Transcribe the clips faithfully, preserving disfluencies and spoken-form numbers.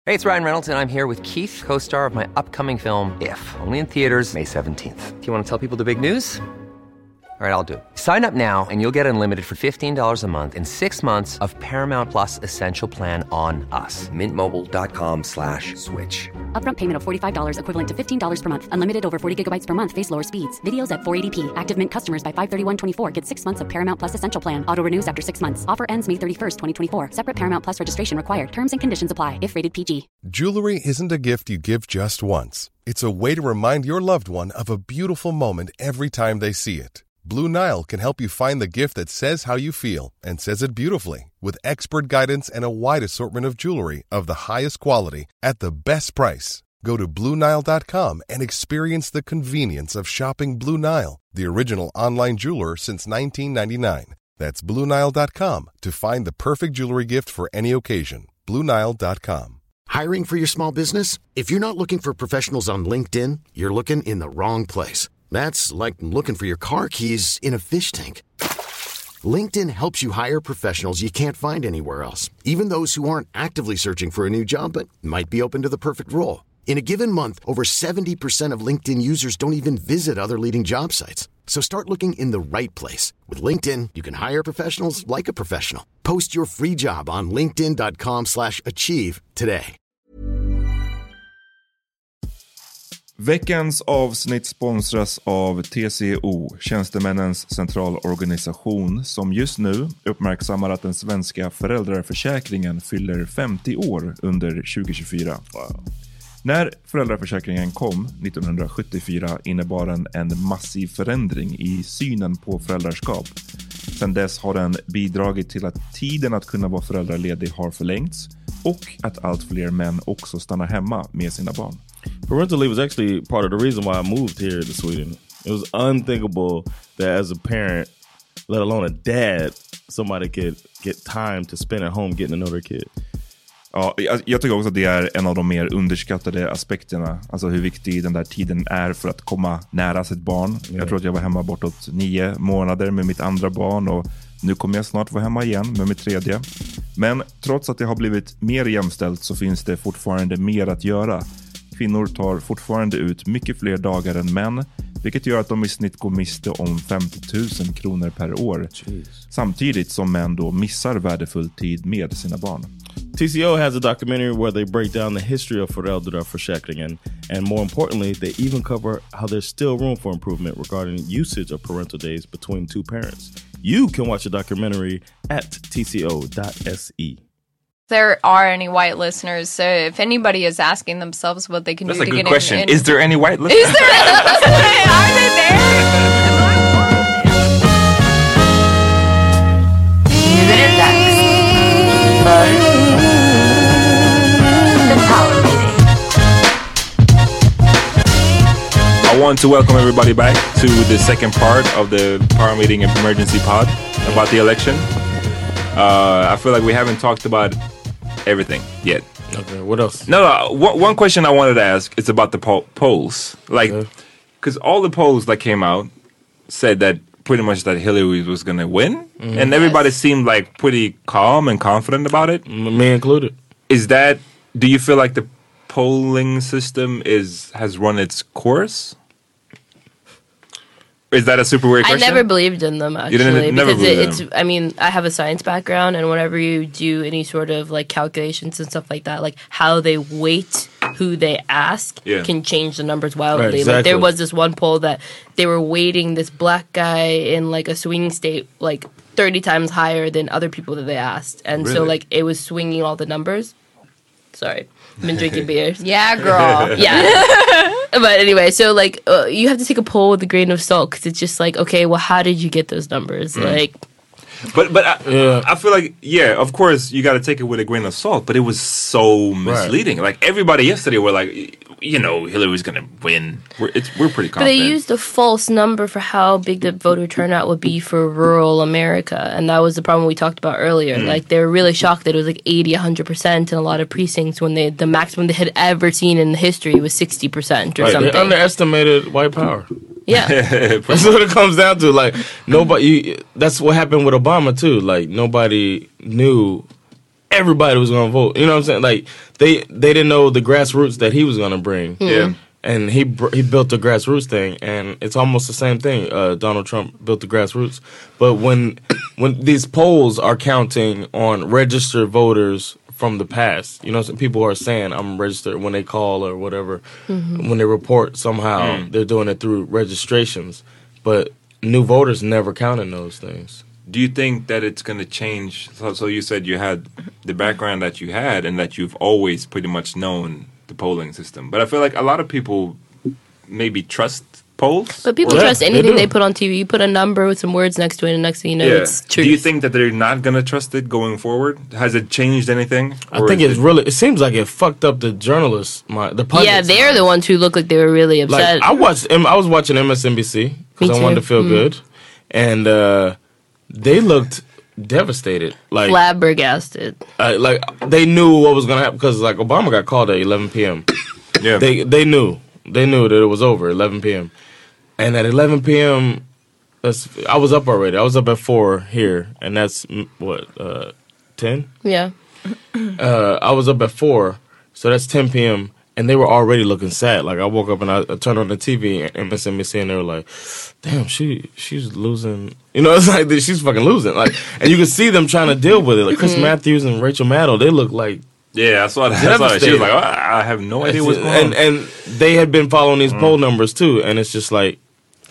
Hey, it's Ryan Reynolds, and I'm here with Keith, co-star of my upcoming film, If, only in theaters May seventeenth. Do you want to tell people the big news? All right, I'll do it. Sign up now and you'll get unlimited for fifteen dollars a month and six months of Paramount Plus Essential Plan on us. Mint Mobile dot com slash switch. Upfront payment of forty-five dollars equivalent to fifteen dollars per month. Unlimited over forty gigabytes per month. Face lower speeds. Videos at four eighty p. Active Mint customers by five thirty-one twenty-four get six months of Paramount Plus Essential Plan. Auto renews after six months. Offer ends May thirty-first, twenty twenty-four. Separate Paramount Plus registration required. Terms and conditions apply if rated P G. Jewelry isn't a gift you give just once. It's a way to remind your loved one of a beautiful moment every time they see it. Blue Nile can help you find the gift that says how you feel and says it beautifully, with expert guidance and a wide assortment of jewelry of the highest quality at the best price. Go to Blue Nile dot com and experience the convenience of shopping Blue Nile, the original online jeweler since nineteen ninety-nine. That's Blue Nile dot com to find the perfect jewelry gift for any occasion. Blue Nile dot com. Hiring for your small business? If you're not looking for professionals on LinkedIn, you're looking in the wrong place. That's like looking for your car keys in a fish tank. LinkedIn helps you hire professionals you can't find anywhere else, even those who aren't actively searching for a new job but might be open to the perfect role. In a given month, over seventy percent of LinkedIn users don't even visit other leading job sites. So start looking in the right place. With LinkedIn, you can hire professionals like a professional. Post your free job on linkedin dot com slash achieve today. Veckans avsnitt sponsras av T C O, Tjänstemännens centralorganisation, som just nu uppmärksammar att den svenska föräldraförsäkringen fyller femtio år under tjugo tjugofyra. Wow. När föräldraförsäkringen kom nittonhundrasjuttiofyra innebar den en massiv förändring i synen på föräldraskap. Sedan dess har den bidragit till att tiden att kunna vara föräldraledig har förlängts och att allt fler män också stannar hemma med sina barn. Parental leave was actually part of the reason why I moved here to Sweden. It was unthinkable that as a parent, let alone a dad, somebody could get time to spend at home getting to know their kid. Ja, jag, jag tycker också att det är en av de mer underskattade aspekterna. Alltså hur viktig den där tiden är för att komma nära sitt barn. Yeah. Jag tror att jag var hemma bortåt nio månader med mitt andra barn och nu kommer jag snart vara hemma igen med mitt tredje. Men trots att det har blivit mer jämställt så finns det fortfarande mer att göra. Kvinnor tar fortfarande ut mycket fler dagar än män, vilket gör att de i snitt går miste om femtio tusen kronor per år. Jeez. Samtidigt som män då missar värdefull tid med sina barn. T C O has a documentary where they break down the history of föräldraförsäkringen, and more importantly, they even cover how there's still room for improvement regarding usage of parental days between two parents. You can watch the documentary at t c o dot s e. There are any white listeners, so if anybody is asking themselves what they can That's do a to good get question. in, Is there any white listeners? Is there any? Are they there? Nu är det dags för The Power Meeting. I want to welcome everybody back to the second part of the Power Meeting Emergency Pod about the election. Uh, I feel like we haven't talked about everything yet. Okay, what else? No, no. One, one question I wanted to ask is about the po- polls. Like, because okay. all the polls that came out said that pretty much that Hillary was going to win. Mm-hmm. And everybody yes. seemed like pretty calm and confident about it. Me included. Is that, do you feel like the polling system is has run its course? Is that a super weird question? I never believed in them, actually. You didn't, never because it, it's, them. I mean, I have a science background, and whenever you do any sort of, like, calculations and stuff like that, like, how they weight who they ask yeah. can change the numbers wildly. Right, exactly. Like, there was this one poll that they were weighting this black guy in, like, a swing state, like, thirty times higher than other people that they asked. And really? so, like, it was swinging all the numbers. Sorry. I've been drinking beers. Yeah, girl. Yeah. But anyway, so like uh, you have to take a poll with a grain of salt because it's just like, okay, well, how did you get those numbers? Mm. Like, but but I, yeah. I feel like yeah, of course you got to take it with a grain of salt. But it was so misleading. Right. Like everybody yesterday were like, you know, Hillary's gonna win. We're it's we're pretty confident. But they used a false number for how big the voter turnout would be for rural America, and that was the problem we talked about earlier. Mm. Like they were really shocked that it was like eighty, a hundred percent in a lot of precincts when they the maximum they had ever seen in history was sixty percent or right, something. They underestimated white power. Yeah, that's what it comes down to. Like nobody. You, that's what happened with Obama too. Like nobody knew everybody was gonna vote. You know what I'm saying? Like they they didn't know the grassroots that he was gonna bring. Yeah. And he br- he built the grassroots thing, and it's almost the same thing. Uh, Donald Trump built the grassroots, but when when these polls are counting on registered voters from the past, you know, some people are saying I'm registered when they call or whatever, mm-hmm. when they report somehow mm. they're doing it through registrations, but new voters never count in those things. Do you think that it's going to change? So, so you said you had the background that you had, and that you've always pretty much known the polling system. But I feel like a lot of people maybe trust polls. But people yeah, trust anything they, they put on T V. You put a number with some words next to it, and next thing you know, yeah. it's true. Do you think that they're not going to trust it going forward? Has it changed anything? I think it's it really, it seems like it fucked up the journalists, my, the pundits. Yeah, they're mind. the ones who look like they were really upset. Like, I watched, I was watching M S N B C because I wanted to feel mm. good. And uh, they looked devastated, like flabbergasted. Uh, like they knew what was gonna happen because like Obama got called at eleven p.m. Yeah, they they knew they knew that it was over eleven p.m. And at eleven p.m. That's, I was up already. I was up at four here, and that's what uh, ten. Yeah, uh, I was up at four, so that's ten p.m. And they were already looking sad. Like I woke up and I, I turned on the T V and M S N B C, and they were like, "Damn, she she's losing." You know, it's like she's fucking losing. Like, and you can see them trying to deal with it. Like Chris Matthews and Rachel Maddow, they look like yeah. I saw that. I saw that. She was like, oh, "I have no idea what's going and, on." And they had been following these mm. poll numbers too, and it's just like,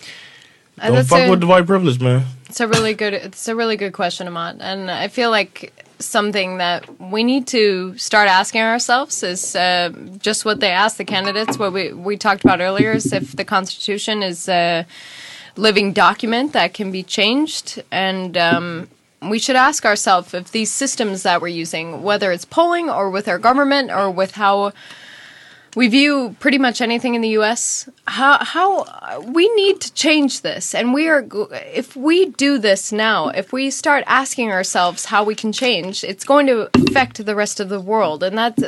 don't That's fuck a, with the white privilege, man. It's a really good. It's a really good question, Ahmad, and I feel like something that we need to start asking ourselves is uh, just what they ask the candidates. What we we talked about earlier is if the Constitution is a living document that can be changed, and um, we should ask ourselves if these systems that we're using, whether it's polling or with our government or with how we view pretty much anything in the U S, how how we need to change this. And we are, if we do this now, if we start asking ourselves how we can change, it's going to affect the rest of the world. And that's,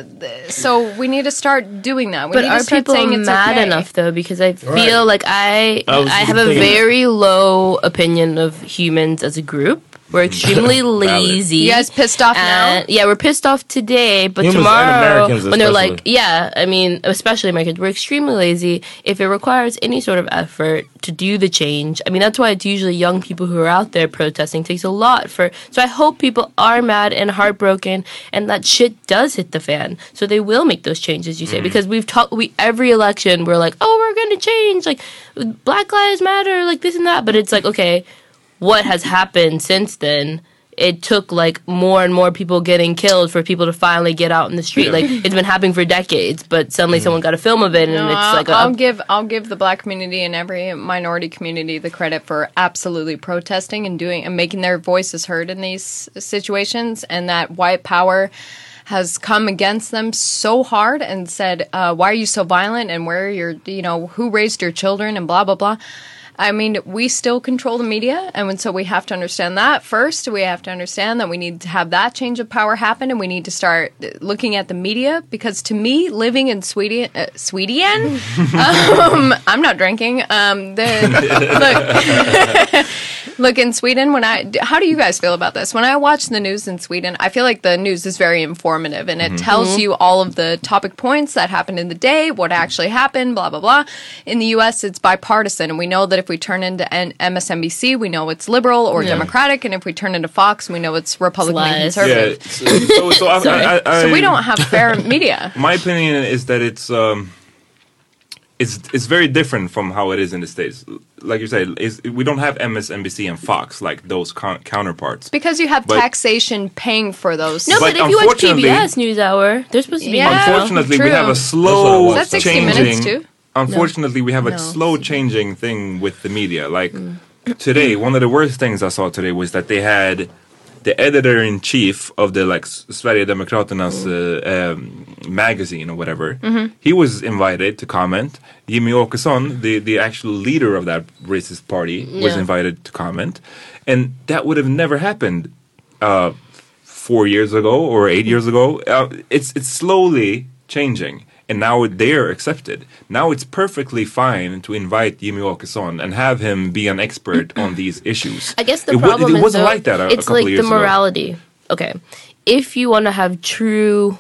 so we need to start doing that. We but need are to start people saying it's mad okay. enough though? Because I feel right. like I I, I have a very low opinion of humans as a group. We're extremely lazy. You guys pissed off now? Yeah, we're pissed off today, but Humans tomorrow, and when they're like, yeah, I mean, especially Americans, we're extremely lazy. If it requires any sort of effort to do the change, I mean, that's why it's usually young people who are out there protesting. It takes a lot for. So I hope people are mad and heartbroken, and that shit does hit the fan. So they will make those changes, you say, mm. because we've talked. We every election we're like, oh, we're going to change, like Black Lives Matter, like this and that. But it's like, okay, what has happened since then? It took like more and more people getting killed for people to finally get out in the street. Like it's been happening for decades, but suddenly mm. someone got a film of it, and no, it's I'll, like a, I'll give I'll give the Black community and every minority community the credit for absolutely protesting and doing and making their voices heard in these situations, and that white power has come against them so hard and said, uh, "Why are you so violent?" and where you're, you know, who raised your children and blah blah blah. I mean, we still control the media, and so we have to understand that first. We have to understand that we need to have that change of power happen, and we need to start looking at the media, because to me, living in Sweden, uh, Sweden, um, I'm not drinking. Um, the, look, look, in Sweden, when I, how do you guys feel about this? When I watch the news in Sweden, I feel like the news is very informative, and it mm-hmm. tells you all of the topic points that happened in the day, what actually happened, blah, blah, blah. In the U S, it's bipartisan, and we know that if we turn into M S N B C, we know it's liberal or yeah. Democratic, and if we turn into Fox, we know it's Republican and conservative. Yeah, so, so, I, I, I, so we don't have fair media. My opinion is that it's um, it's it's very different from how it is in the States. Like you said, is we don't have M S N B C and Fox like those con- counterparts. It's because you have but, taxation paying for those. No, but, but if you watch P B S NewsHour, they're supposed to be. Yeah, unfortunately, true. we have a slow That's sixty changing. Minutes too? Unfortunately, no. we have a no. slow changing thing with the media. Like mm. today, one of the worst things I saw today was that they had the editor-in-chief of the like Sverigedemokraternas uh, um, magazine or whatever. Mm-hmm. He was invited to comment. Jimmy Åkesson, the, the actual leader of that racist party, yeah. was invited to comment. And that would have never happened uh, four years ago or eight years ago. Uh, it's it's slowly changing. And now they're accepted. Now it's perfectly fine to invite Jimmy Åkesson and have him be an expert on these issues. I guess the it problem w- it is wasn't though, like that a, it's a couple like of years the morality. Ago. Okay. if you want to have true,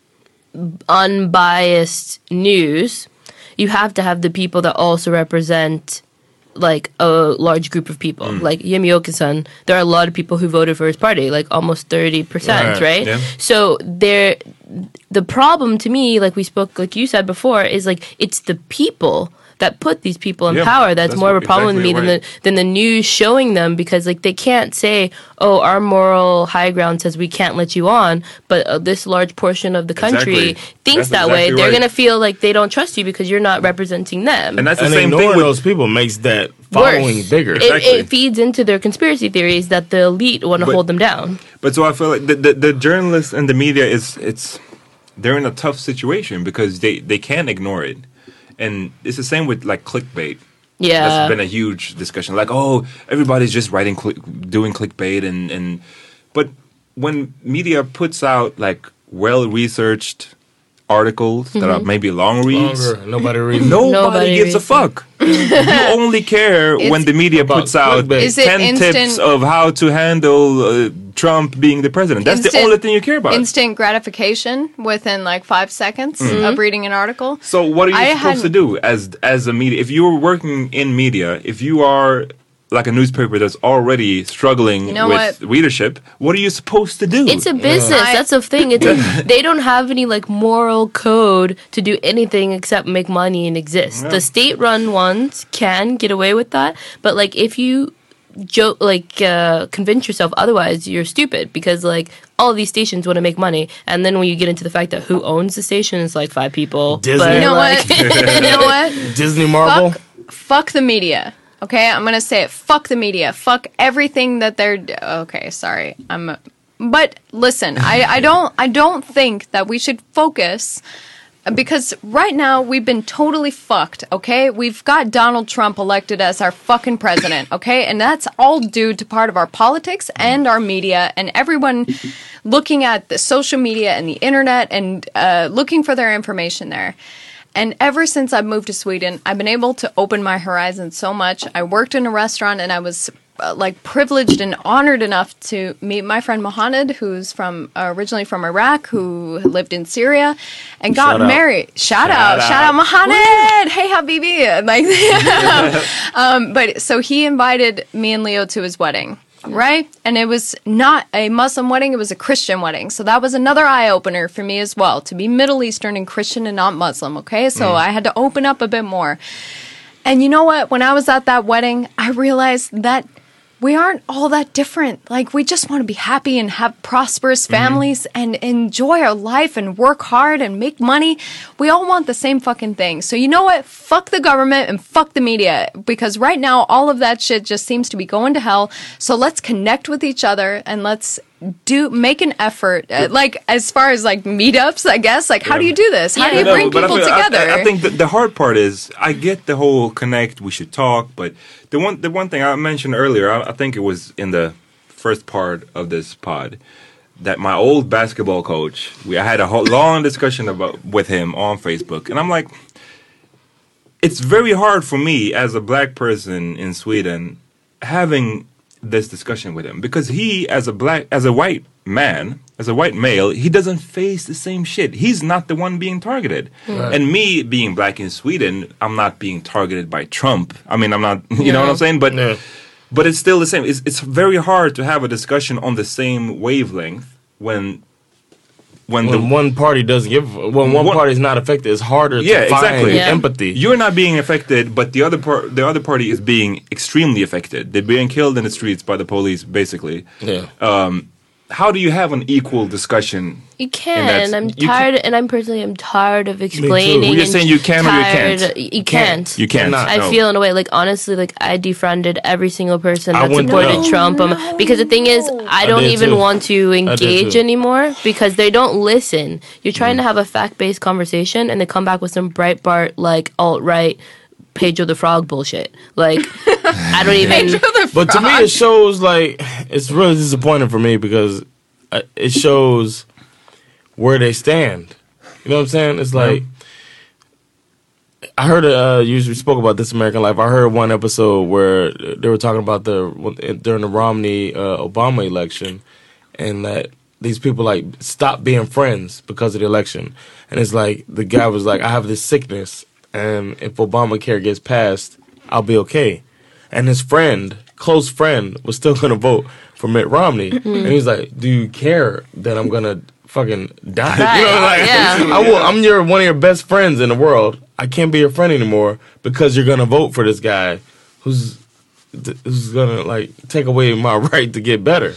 unbiased news, you have to have the people that also represent like a large group of people. Mm. Like Jimmy Åkesson, there are a lot of people who voted for his party, like almost thirty percent, right? right? Yeah. So there, the problem to me, like we spoke, like you said before, is like it's the people that put these people in yeah, power that's, that's more of a problem exactly to me right. than the than the news showing them, because like they can't say, oh, our moral high ground says we can't let you on, but uh, this large portion of the country exactly. thinks that's that exactly way. Right. They're gonna feel like they don't trust you because you're not representing them. And that's the and same thing with those people makes that following worse. bigger. It, exactly. it feeds into their conspiracy theories that the elite want to hold them down. But so I feel like the, the the journalists and the media is it's they're in a tough situation because they they can't ignore it. And it's the same with like clickbait. Yeah, that's been a huge discussion. Like, oh, everybody's just writing, cli- doing clickbait, and and but when media puts out like well-researched articles mm-hmm. that are maybe long reads, Longer. nobody reads. Nobody, nobody gives reads a fuck. You only care it's when the media puts out ten instant, tips of how to handle uh, Trump being the president. That's instant, the only thing you care about. Instant gratification within like five seconds mm-hmm. of reading an article. So what are you I supposed to do as as a media? If you're working in media, if you are like a newspaper that's already struggling you know with what? readership, what are you supposed to do? It's a business. Yeah. That's the thing. It's a, they don't have any like moral code to do anything except make money and exist. Yeah. The state-run ones can get away with that, but like if you joke, like uh, convince yourself otherwise, you're stupid, because like all of these stations want to make money, and then when you get into the fact that who owns the station, it's like five people. Disney, but, you know like, what? You know what? Disney Marvel. Fuck, fuck the media. Okay, I'm gonna say it. Fuck the media. Fuck everything that they're. Okay, sorry. I'm. But listen, I, I don't. I don't think that we should focus, because right now we've been totally fucked. Okay, we've got Donald Trump elected as our fucking president. Okay, and that's all due to part of our politics and our media and everyone looking at the social media and the internet and uh, looking for their information there. And ever since I've moved to Sweden, I've been able to open my horizons so much. I worked in a restaurant, and I was uh, like privileged and honored enough to meet my friend Mohammed, who's from uh, originally from Iraq, who lived in Syria, and got shout married. Out. Shout, shout out, out, shout out, Mohammed! Hey, Habibi! Like, um, but so he invited me and Leo to his wedding. Right? And it was not a Muslim wedding, it was a Christian wedding. So that was another eye-opener for me as well, to be Middle Eastern and Christian and not Muslim, okay? So mm. I had to open up a bit more. And you know what? When I was at that wedding, I realized that we aren't all that different. Like, we just want to be happy and have prosperous families mm-hmm. and enjoy our life and work hard and make money. We all want the same fucking thing. So you know what? Fuck the government and fuck the media, because right now all of that shit just seems to be going to hell. So let's connect with each other and let's do make an effort. Uh, like as far as like meetups, I guess. Like, how yeah. do you do this? How yeah. do you bring no, people I feel, together? I, I think the, the hard part is I get the whole connect. We should talk, but the one the one thing I mentioned earlier, I, I think it was in the first part of this pod, that my old basketball coach, we I had a whole long discussion about with him on Facebook, and I'm like, it's very hard for me as a black person in Sweden having this discussion with him, because he as a black as a white man as a white male, he doesn't face the same shit. He's not the one being targeted. Right. And me being black in Sweden, I'm not being targeted by Trump. I mean, I'm not, you no. know what I'm saying? But no. but it's still the same. It's, it's very hard to have a discussion on the same wavelength when when, when the one party doesn't give, when one, one party is not affected, it's harder yeah, to find exactly. yeah. empathy. You're not being affected, but the other part, the other party is being extremely affected. They're being killed in the streets by the police, basically. Yeah. Um, how do you have an equal discussion? You can, and I'm tired, and I'm personally, I'm tired of explaining. Well, you're saying you can tired, or you can't? You can't. You can't. I no. feel in a way, like, honestly, like, I defriended every single person I that supported no. Trump. Um, No. Because the thing is, I don't I even too. want to engage anymore, because they don't listen. You're trying mm. to have a fact-based conversation, and they come back with some Breitbart, like, alt-right, Pedro the Frog bullshit. Like, I don't even... But to me, it shows, like, it's really disappointing for me, because uh, it shows where they stand. You know what I'm saying? It's like, yeah. I heard, uh, you spoke about This American Life. I heard one episode where they were talking about the, during the Romney uh, Obama election, and that these people like stop being friends because of the election. And it's like the guy was like, I have this sickness, and if Obamacare gets passed, I'll be okay. And his friend, close friend, was still gonna vote for Mitt Romney. Mm-hmm. And he's like, do you care that I'm gonna fucking die? Right. You know, like, Yeah. I will, I'm your one of your best friends in the world. I can't be your friend anymore because you're gonna vote for this guy who's who's gonna like take away my right to get better.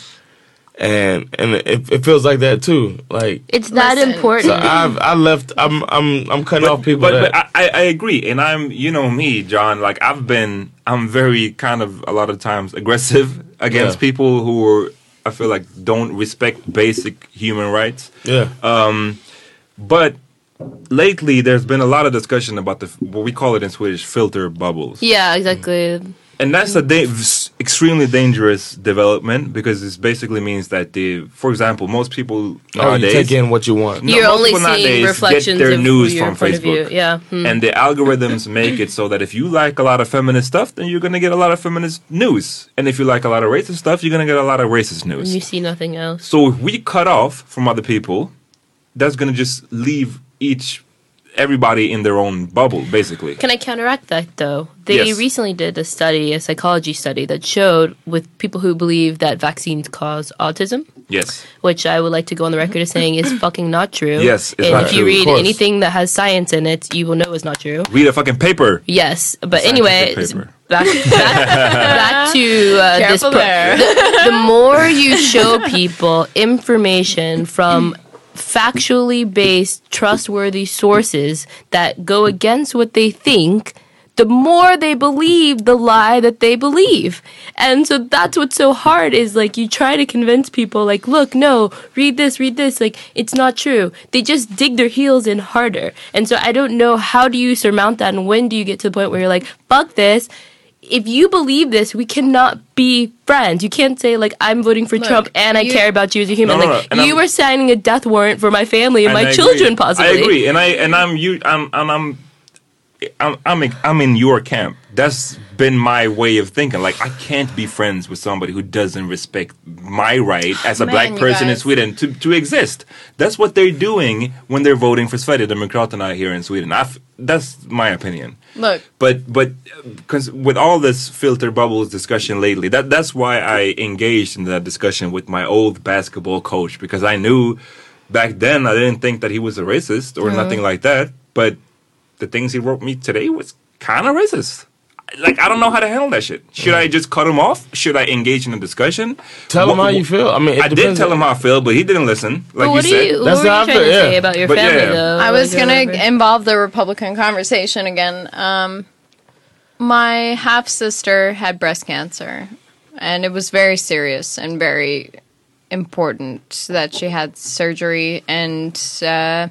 And and it, it feels like that too. Like it's that Listen. important. so I've I left. I'm I'm I'm cutting But, off people. but, that, but I, I agree, and I'm you know me, John. Like I've been, I'm very kind of a lot of times aggressive against Yeah. people who are, I feel like don't respect basic human rights. yeah. Um, but lately, there's been a lot of discussion about the what we call it in Swedish filter bubbles. Yeah, exactly. And that's a da- extremely dangerous development because it basically means that the, for example, most people Oh, you nowadays take in what you want. No, You're most only people seeing nowadays reflections get their of news your from point of view. Facebook. Yeah. Hmm. And the algorithms make it so that if you like a lot of feminist stuff, then you're gonna get a lot of feminist news. And if you like a lot of racist stuff, you're gonna get a lot of racist And news. you see nothing else. So if we cut off from other people, that's gonna just leave each everybody in their own bubble, basically. Can I counteract that though? They Yes. recently did a study, a psychology study, that showed with people who believe that vaccines cause autism, Yes. which I would like to go on the record as saying is fucking not true. Yes, it's and not if true, you of read course. anything that has science in it, you will know it's not true. Read a fucking paper. Yes, but Scientific anyway, paper. back, back, back to uh, this. Careful pro- there. the, the more you show people information from factually based, trustworthy sources that go against what they think, the more they believe the lie that they believe. And so that's what's so hard is like you try to convince people like, look, no, read this, read this. Like, it's not true. They just dig their heels in harder. And so I don't know, how do you surmount that? And when do you get to the point where you're like, fuck this? If you believe this, we cannot be friends. You can't say, like, I'm voting for Look, Trump and I you- care about you as a human. No, no, like, no, and you I'm- were signing a death warrant for my family and, And my I children, agree. possibly. I agree, and I and I'm you. I'm and I'm. I'm, I'm in- I'm in your camp. That's been my way of thinking. Like I can't be friends with somebody who doesn't respect my right as a Man, black you person in guys. Sweden to, to exist. That's what they're doing when they're voting for Sverigedemokraterna here in Sweden. I've, that's my opinion. Look, But but because with all this filter bubbles discussion lately, that that's why I engaged in that discussion with my old basketball coach because I knew back then I didn't think that he was a racist or nothing like that. But the things he wrote me today was kind of racist. Like I don't know how to handle that shit. Should I just cut him off? Should I engage in a discussion? Tell him What- how you feel. I mean, it I did depends tell on- him how I feel, but he didn't listen. Like But what you do said. you, what That's were you how I trying feel, to yeah. say about your But family, yeah. though? I was Like, or going to whatever? involve the Republican conversation again. Um, my half sister had breast cancer, and it was very serious and very important that she had surgery, and uh,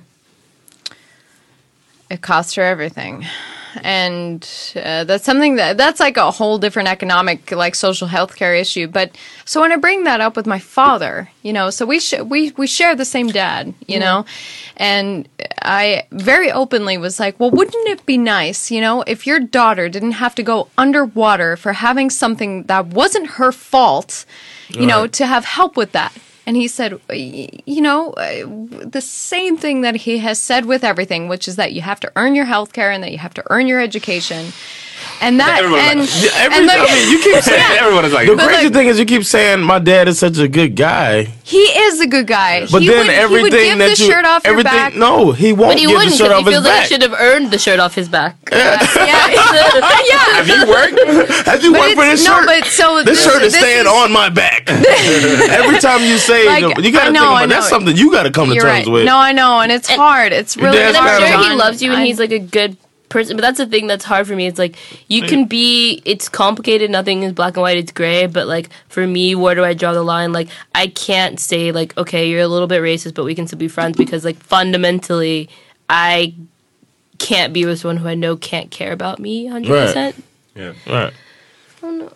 it cost her everything. And uh, that's something that that's like a whole different economic, like social healthcare issue. But so when I bring that up with my father, you know, so we sh- we we share the same dad, you know, and I very openly was like, well, wouldn't it be nice, you know, if your daughter didn't have to go underwater for having something that wasn't her fault, you know, to have help with that. And he said, y- you know, uh, the same thing that he has said with everything, which is that you have to earn your health care and that you have to earn your education. And that, Everyone and, like- Yeah, every, and look, I mean, you keep saying. Everyone is like, The But crazy look- thing is, you keep saying my dad is such a good guy, he is a good guy. but he then would, everything he would give that the you, shirt off your everything, back. no, he won't But he give the wouldn't shirt because off he his feels like he back. should have earned the shirt off his back. Yeah, yeah. have you worked? Have you But worked for it's- this no, shirt? but so this, this- shirt is this staying is- on my back. Every time you say, Like, it, you got I to know, think I about that's know. something you got to come to You're terms right. with. No, I know, and it's hard. It's really dad's And That's I'm kinda- sure he John, loves you and I- he's like a good person. But that's the thing that's hard for me. It's like you can be. It's complicated. Nothing is black and white. It's gray. But like for me, where do I draw the line? Like I can't say like, okay, you're a little bit racist, but we can still be friends because like fundamentally, I can't be with someone who I know can't care about me one hundred percent. Yeah, Right. Oh no.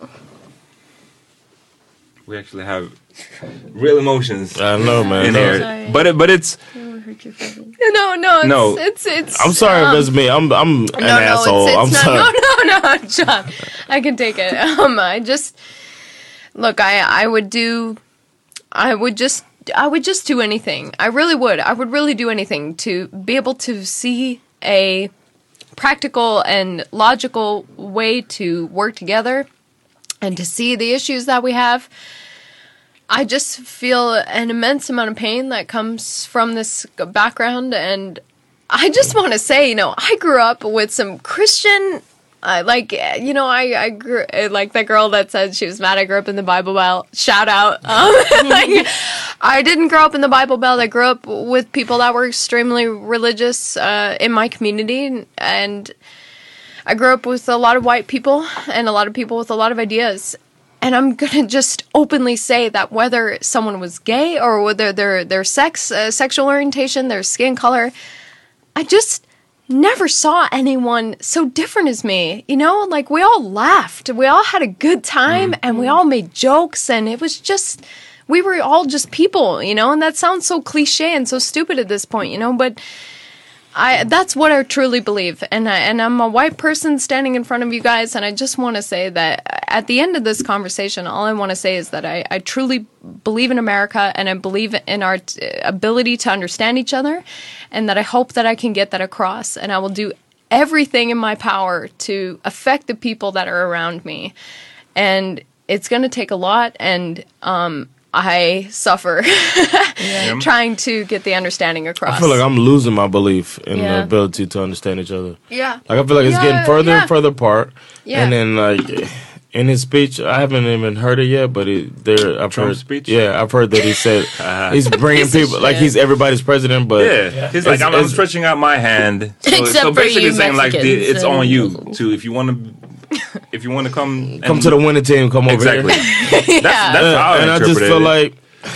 we actually have real emotions I know, man. in No. here. Sorry. But it, but it's No, no, it's, No. it's, it's. I'm sorry um, if it's me. I'm I'm an no, no, asshole. It's, I'm it's sorry. not, no, no, no, John. I can take it. Um, I just look. I I would do. I would just I would just do anything. I really would. I would really do anything to be able to see a practical and logical way to work together and to see the issues that we have. I just feel an immense amount of pain that comes from this background, and I just want to say, you know, I grew up with some Christian, uh, like, you know, I, I grew, like that girl that said she was mad I grew up in the Bible Belt, shout out. Um, like, I didn't grow up in the Bible Belt. I grew up with people that were extremely religious uh, in my community, and I grew up with a lot of white people and a lot of people with a lot of ideas. And I'm going to just openly say that whether someone was gay or whether their their sex, uh, sexual orientation, their skin color, I just never saw anyone so different as me. You know, like we all laughed. We all had a good time and we all made jokes, and it was just, we were all just people, you know, and that sounds so cliche and so stupid at this point, you know, but I that's what I truly believe, and I, and I'm a white person standing in front of you guys, and I just want to say that at the end of this conversation, all I want to say is that I, I truly believe in America, and I believe in our t- ability to understand each other, and that I hope that I can get that across, and I will do everything in my power to affect the people that are around me, and it's going to take a lot, and um, I suffer yeah. trying to get the understanding across. I feel like I'm losing my belief in yeah. the ability to understand each other. Yeah. Like I feel like it's yeah, getting further yeah. and further apart. Yeah. And then like in his speech, I haven't even heard it yet, but it, there I've Trump's heard speech? Yeah, I've heard that he said uh, he's bringing people like he's everybody's president, but yeah, yeah. he's like I'm, I'm stretching out my hand. So, Except so for basically you saying like the, it's Mexicans on you and- to if you want to. If you want to come, come and, to the winning team, come over exactly. here. that's that's Yeah, how I and I just interpret feel it. like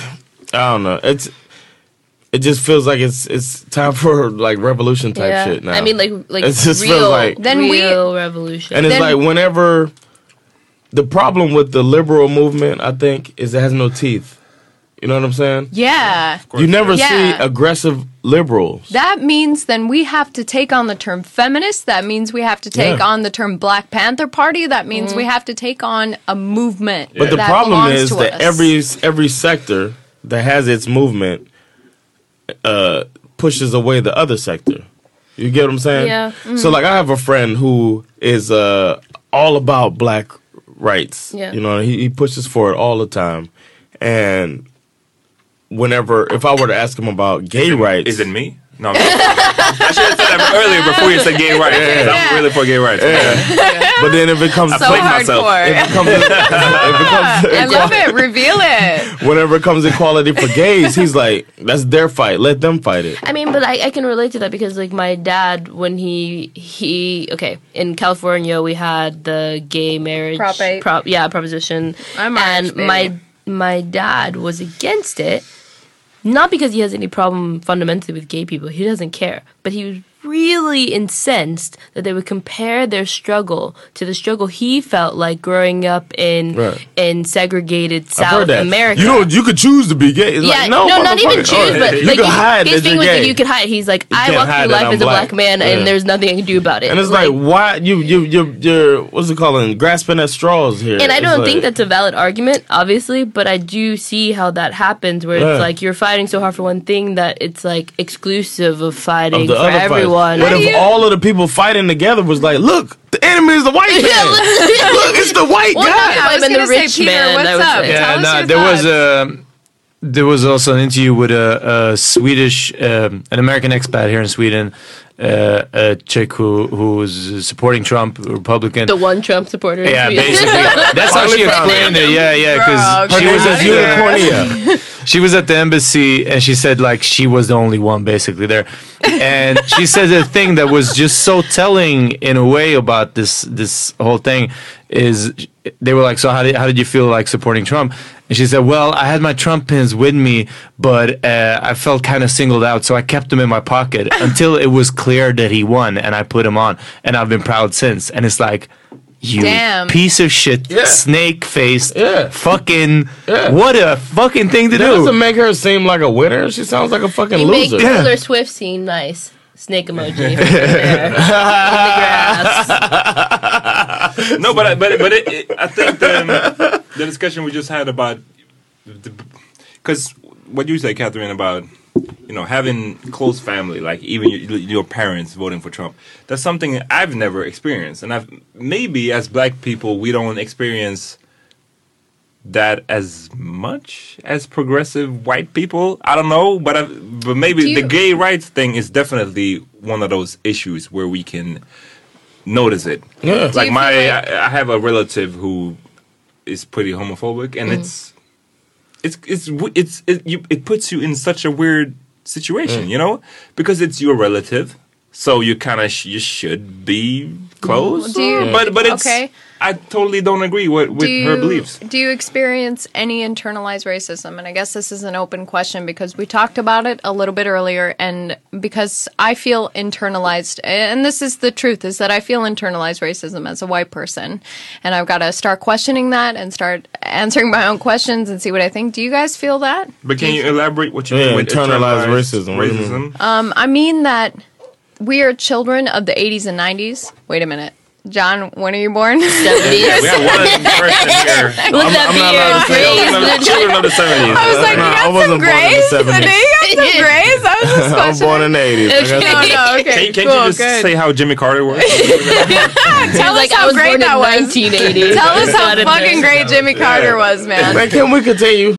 I don't know. It's it just feels like it's it's time for like revolution type Yeah. shit now. I mean, like like It just real, feels like- Then we- real revolution. and it's then- like whenever the problem with the liberal movement, I think, is it has no teeth. You know what I'm saying? Yeah. You never Yeah. see aggressive liberals. That means then we have to take on the term feminist. That means we have to take Yeah. on the term Black Panther Party. That means we have to take on a movement. But the that problem belongs is to that us. every every sector that has its movement uh, pushes away the other sector. You get what I'm saying? Yeah. So like I have a friend who is uh, all about black rights. Yeah. You know, he, he pushes for it all the time. And whenever, if I were to ask him about gay rights, Is it me? No, I'm I should have said that earlier before you said gay rights. Yeah. I'm really for gay rights. but then if it comes I to so played myself. hardcore. if it comes to, if it comes to I love it. Reveal it. whenever it comes to equality for gays, he's like, that's their fight. Let them fight it. I mean, but I, I can relate to that because, like, my dad, when he he okay in California, we had the gay marriage Prop eight. prop yeah proposition, I'm and Irish, my baby. my dad was against it, not because he has any problem fundamentally with gay people. He doesn't care, but he was really incensed that they would compare their struggle to the struggle he felt like growing up in Right. in segregated I've South heard that. America. You don't. You could choose to be gay. It's Yeah, like, no, no, not even motherfucker. choose, but you like can hide his that thing you're was gay. that you could hide. He's like, I can't walk hide through that life I'm as a black. black man, Yeah. and there's nothing I can do about it. and it's like, why you you you you're what's it called? Grasping at straws here. and I It's don't like- think that's a valid argument, obviously, but I do see how that happens, where Yeah. it's like you're fighting so hard for one thing that it's like exclusive of fighting of the for other fight. everyone. What How if do you- all of the people fighting together was like, look, the enemy is the white man. Look, it's the white Well, guy. not I was been the gonna say, rich Peter, man, what's I would up? say. Tell Yeah, us no, your there was thoughts. a there was also an interview with a, a Swedish, um, an American expat here in Sweden, uh, a chick who who was supporting Trump, Republican. The one Trump supporter. in yeah, Sweden. basically, that's how she explained it. Yeah, yeah, because Bro, she was at Unicorn, the, yeah. she was at the embassy and she said like she was the only one basically there, and she said a thing that was just so telling in a way about this this whole thing is they were like, so how did how did you feel like supporting Trump? And she said, well, I had my Trump pins with me, but uh, I felt kind of singled out, so I kept them in my pocket until it was clear that he won, and I put them on, and I've been proud since. And it's like, you Damn. piece of shit, Yeah. snake faced, Yeah. fucking, Yeah. what a fucking thing to That do. doesn't make her seem like a winner. She sounds like a fucking You make loser. Taylor Swift seem nice. Snake emoji. There. In the grass. No, but I- but but it, it, I think the, the discussion we just had about because what you say, Catherine, about you know having close family, like even your, your parents voting for Trump. That's something I've never experienced, and I've maybe as Black people we don't experience that as much as progressive white people. I don't know, but I've, but maybe you, the gay rights thing is definitely one of those issues where we can notice it. Yeah. Like my, like I, I have a relative who is pretty homophobic, and mm. it's, it's, it's, it's, it, you, it puts you in such a weird situation, mm. you know, because it's your relative, so you kind of sh- you should be close. Do you, but but it's, okay. I totally don't agree with, with you, her beliefs. Do you experience any internalized racism? And I guess this is an open question because we talked about it a little bit earlier, and because I feel internalized, and this is the truth, is that I feel internalized racism as a white person, and I've got to start questioning that and start answering my own questions and see what I think. Do you guys feel that? But can you, you elaborate what you yeah, mean with internalized, internalized racism? racism? Um, I mean that we are children of the eighties and nineties. Wait a minute. John, when are you born? seventies. Yeah, we have one person here. With that I'm not beard, allowed to say- grays, Children of- children of the seventies. I was like, Nah, you I got some wasn't born in the grays? seventies. You got some grays? I was just I'm questioning. born in the eighties. I got No, no, okay, Can, can't cool, you just good. say how Jimmy Carter was? Tell us like, how I was great born that in was. nineteen eighty. Tell us how Got it fucking there. great Jimmy Carter was, man. Man, can we continue?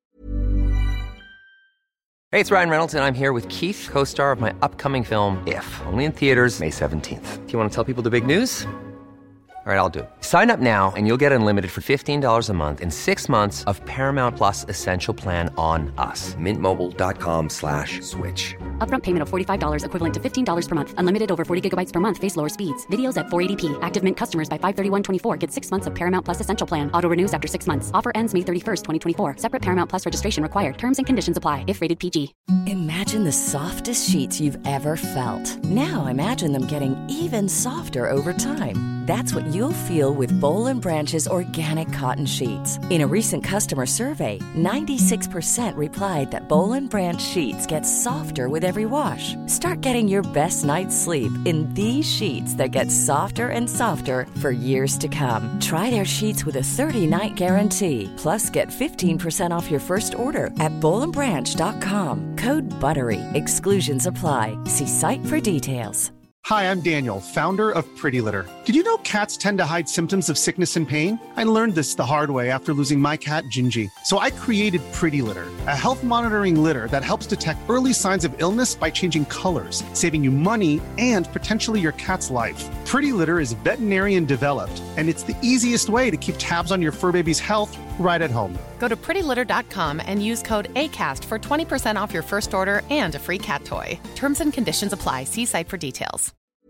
Hey, it's Ryan Reynolds, and I'm here with Keith, co-star of my upcoming film, If, only in theaters May seventeenth. Do you want to tell people the big news? All right, I'll do it. Sign up now and you'll get unlimited for fifteen dollars a month and six months of Paramount Plus Essential Plan on us. Mint Mobile dot com slash switch. Upfront payment of forty-five dollars equivalent to fifteen dollars per month. Unlimited over forty gigabytes per month. Face lower speeds. Videos at four eighty p. Active Mint customers by five thirty-one twenty-four get six months of Paramount Plus Essential Plan. Auto renews after six months. Offer ends May thirty-first, twenty twenty-four. Separate Paramount Plus registration required. Terms and conditions apply if rated P G. Imagine the softest sheets you've ever felt. Now imagine them getting even softer over time. That's what you'll feel with Boll and Branch's organic cotton sheets. In a recent customer survey, ninety-six percent replied that Boll and Branch sheets get softer with every wash. Start getting your best night's sleep in these sheets that get softer and softer for years to come. Try their sheets with a thirty-night guarantee. Plus, get fifteen percent off your first order at boll and branch dot com. Code BUTTERY. Exclusions apply. See site for details. Hi, I'm Daniel, founder of Pretty Litter. Did you know cats tend to hide symptoms of sickness and pain? I learned this the hard way after losing my cat, Gingy. So I created Pretty Litter, a health monitoring litter that helps detect early signs of illness by changing colors, saving you money and potentially your cat's life. Pretty Litter is veterinarian developed, and it's the easiest way to keep tabs on your fur baby's health right at home. Go to pretty litter dot com and use code ACAST for twenty percent off your first order and a free cat toy. Terms and conditions apply. See site for details.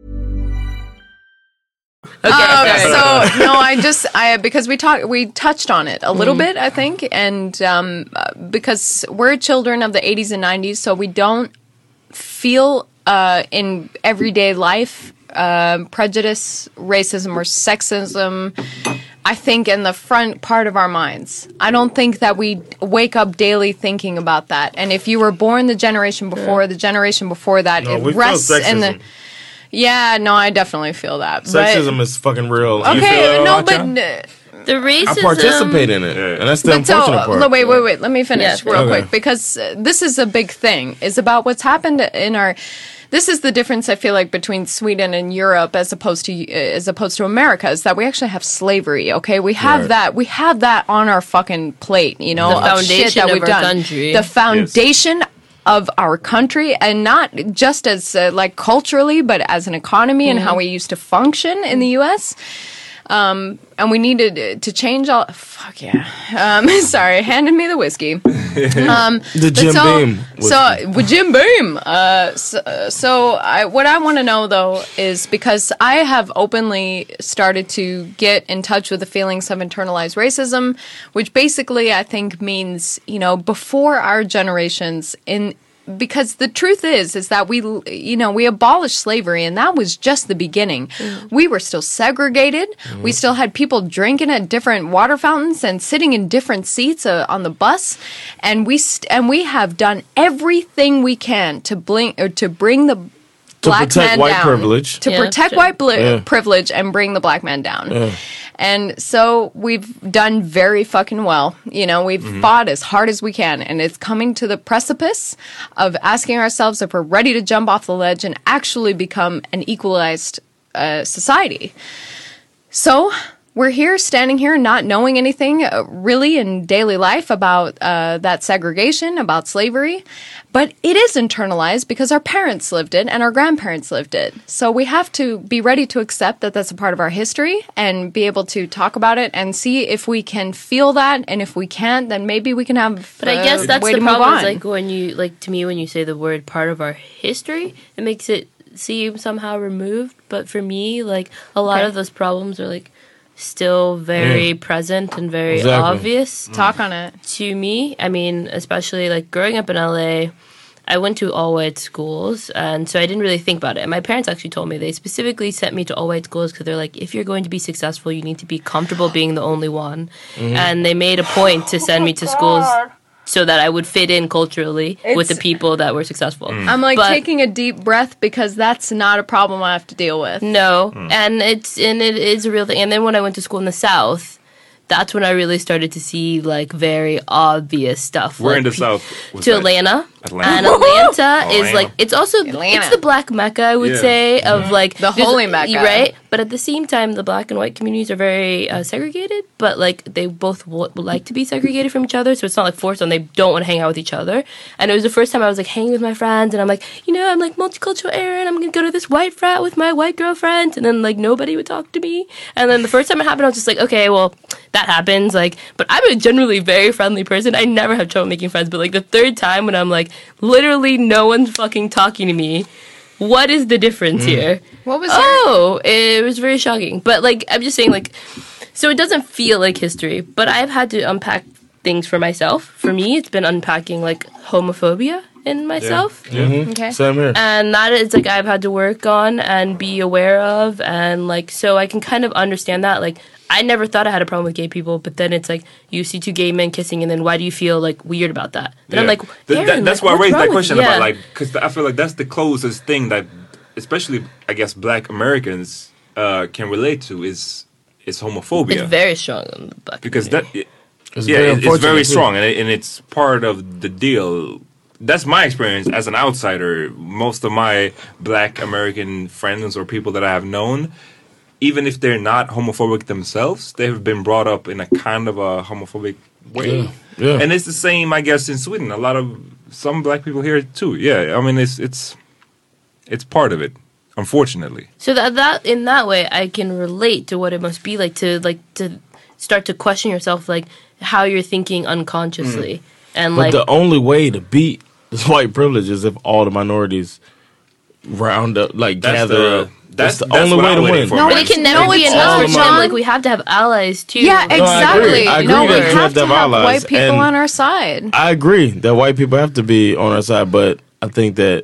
Okay. Um, so no, I just I because we talked we touched on it a little mm. bit, I think, and um, because we're children of the eighties and nineties, so we don't feel uh, in everyday life uh, prejudice, racism, or sexism. I think in the front part of our minds. I don't think that we wake up daily thinking about that. And if you were born the generation before, yeah. the generation before that, no, it we rests feel sexism. in the. Yeah, no, I definitely feel that. Sexism but, is fucking real. Okay, you feel no, that, but uh, the racism. I participate in it, and that's the but unfortunate so, part. No, wait, wait, wait. Let me finish yeah. real okay. quick because uh, this is a big thing. Is about what's happened in our. This is the difference I feel like between Sweden and Europe as opposed to uh, as opposed to America is that we actually have slavery. Okay, we have right. that. We have that on our fucking plate. You know, the of foundation shit that of we've our done. country. The foundation. Yes. Of our country, and not just as uh, like culturally, but as an economy mm-hmm. and how we used to function in the U S Um, and we needed to change all. Fuck yeah. Um, sorry, handed me the whiskey. Um, the Jim so, Beam. So with Jim Beam. Uh, so, so I, what I want to know though is because I have openly started to get in touch with the feelings of internalized racism, which basically I think means you know before our generations in. Because the truth is, is that we, you know, we abolished slavery, and that was just the beginning. Mm. We were still segregated. Mm. We still had people drinking at different water fountains and sitting in different seats uh, on the bus, and we st- and we have done everything we can to bring or to bring the black protect man white down. privilege. To Yeah, protect sure. white bli- Yeah. privilege and bring the black man down. Yeah. And so we've done very fucking well. You know, we've Mm-hmm. fought as hard as we can, and it's coming to the precipice of asking ourselves if we're ready to jump off the ledge and actually become an equalized uh, society. So we're here, standing here, not knowing anything uh, really in daily life about uh, that segregation, about slavery. But it is internalized because our parents lived it and our grandparents lived it. So we have to be ready to accept that that's a part of our history and be able to talk about it and see if we can feel that. And if we can't, then maybe we can have But I a guess that's way the to move problem. Is on. like when you like to me when you say the word part of our history, it makes it seem somehow removed. But for me, like a lot Okay. of those problems are like still very present and very Exactly. obvious Talk on it. to me. I mean, especially like growing up in L A, I went to all white schools, and so I didn't really think about it. And my parents actually told me they specifically sent me to all white schools because they're like, if you're going to be successful, you need to be comfortable being the only one. And they made a point to send me to schools so that I would fit in culturally with the It's- people that were successful. I'm like But- taking a deep breath because that's not a problem I have to deal with. No, and it's and it is a real thing. And then when I went to school in the South, that's when I really started to see like very obvious stuff. We're like, in the pe- South. Was to that? Atlanta. Atlanta. And Atlanta Atlanta. is like it's also Atlanta. it's the black mecca I would Yeah. say of like The there's- holy mecca. right? But at the same time, the black and white communities are very uh, segregated. But like they both w- would like to be segregated from each other, so it's not like forced on. They don't want to hang out with each other. And it was the first time I was like hanging with my friends, and I'm like, you know, I'm like multicultural Aaron. I'm gonna go to this white frat with my white girlfriend, and then like nobody would talk to me. And then the first time it happened, I was just like, okay, well that happens. Like, but I'm a generally very friendly person. I never have trouble making friends. But like the third time when I'm like, literally no one's fucking talking to me. What is the difference here? What was your... Oh, it was very shocking. But like, I'm just saying, like, so it doesn't feel like history. But I've had to unpack things for myself. For me, it's been unpacking like homophobia in myself. Mhm. Okay. Same here. And that is like I've had to work on and be aware of, and like so I can kind of understand that. Like I never thought I had a problem with gay people, but then it's like you see two gay men kissing, and then why do you feel like weird about that? Then I'm Yeah. like, Th- Aaron, that- that's like, why I what's raised wrong that with question you? about Yeah. like because I feel like that's the closest thing that, especially I guess Black Americans uh, can relate to is is homophobia. It's very strong in the black because that community. It's yeah very it- it's unfortunate, very too. strong and, it, and it's part of the deal. That's my experience as an outsider. Most of my Black American friends or people that I have known, even if they're not homophobic themselves, they have been brought up in a kind of a homophobic way. Yeah. Yeah. And it's the same, I guess, in Sweden. A lot of some Black people here too. Yeah, I mean, it's it's it's part of it, unfortunately. So that that in that way, I can relate to what it must be like to like to start to question yourself, like how you're thinking unconsciously, and But like the only way to beat this white privilege is if all the minorities round up, like That's gather the- up. that's- That's the that's only what way I'm to waiting win. for, No, but man. it can never No, be it's enough not, for them. John. Like we have to have allies too. Yeah, I agree. exactly. I agree no, we that you have have to to have have allies, white people and- on our side. I agree that white people have to be on our side, but I think that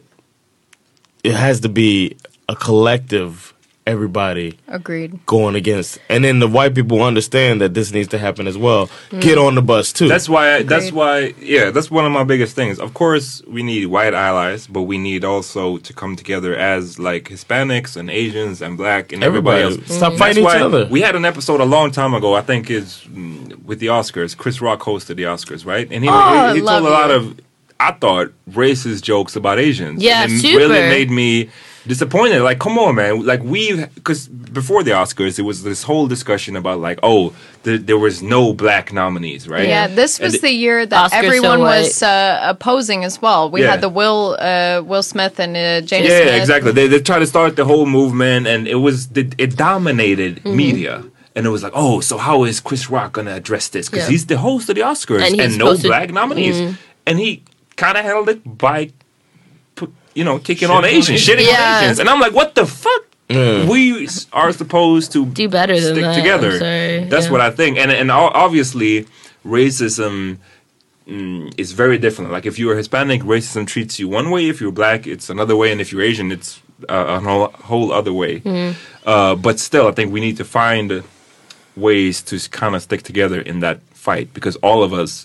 it has to be a collective, everybody Agreed. going against, and then the white people understand that this needs to happen as well. Get on the bus too. That's why. I, that's why. Yeah, that's one of my biggest things. Of course, we need white allies, but we need also to come together as like Hispanics and Asians and Black and everybody, Everybody. else. Stop That's fighting each why other. We had an episode a long time ago. I think is mm, with the Oscars. Chris Rock hosted the Oscars, right? And he Oh, he, he love told a lot you. of, I thought, racist jokes about Asians. Yeah, and it super. really made me disappointed. Like, come on, man. Like, we, because before the Oscars, it was this whole discussion about, like, oh, th- there was no black nominees, right? Yeah, this was And the year that Oscar's so everyone white. was uh, opposing as well. We Yeah. had the Will uh, Will Smith and uh, Jada Yeah, Smith. exactly. They they tried to start the whole movement, and it was it, it dominated Mm-hmm. media. And it was like, oh, so how is Chris Rock gonna address this? Because Yeah. he's the host of the Oscars, And and, he's no supposed to- black nominees. Mhm. And he kind of handled it by, pu- you know, kicking on Asians, shitting Yeah. on Asians. And I'm like, what the fuck? We s- are supposed to Do better than stick that. together. I'm sorry. That's Yeah. what I think. And and o- obviously, racism mm, is very different. Like if you're Hispanic, racism treats you one way. If you're black, it's another way. And if you're Asian, it's uh, a whole, whole other way. Mm-hmm. Uh, but still, I think we need to find ways to kind of stick together in that fight because all of us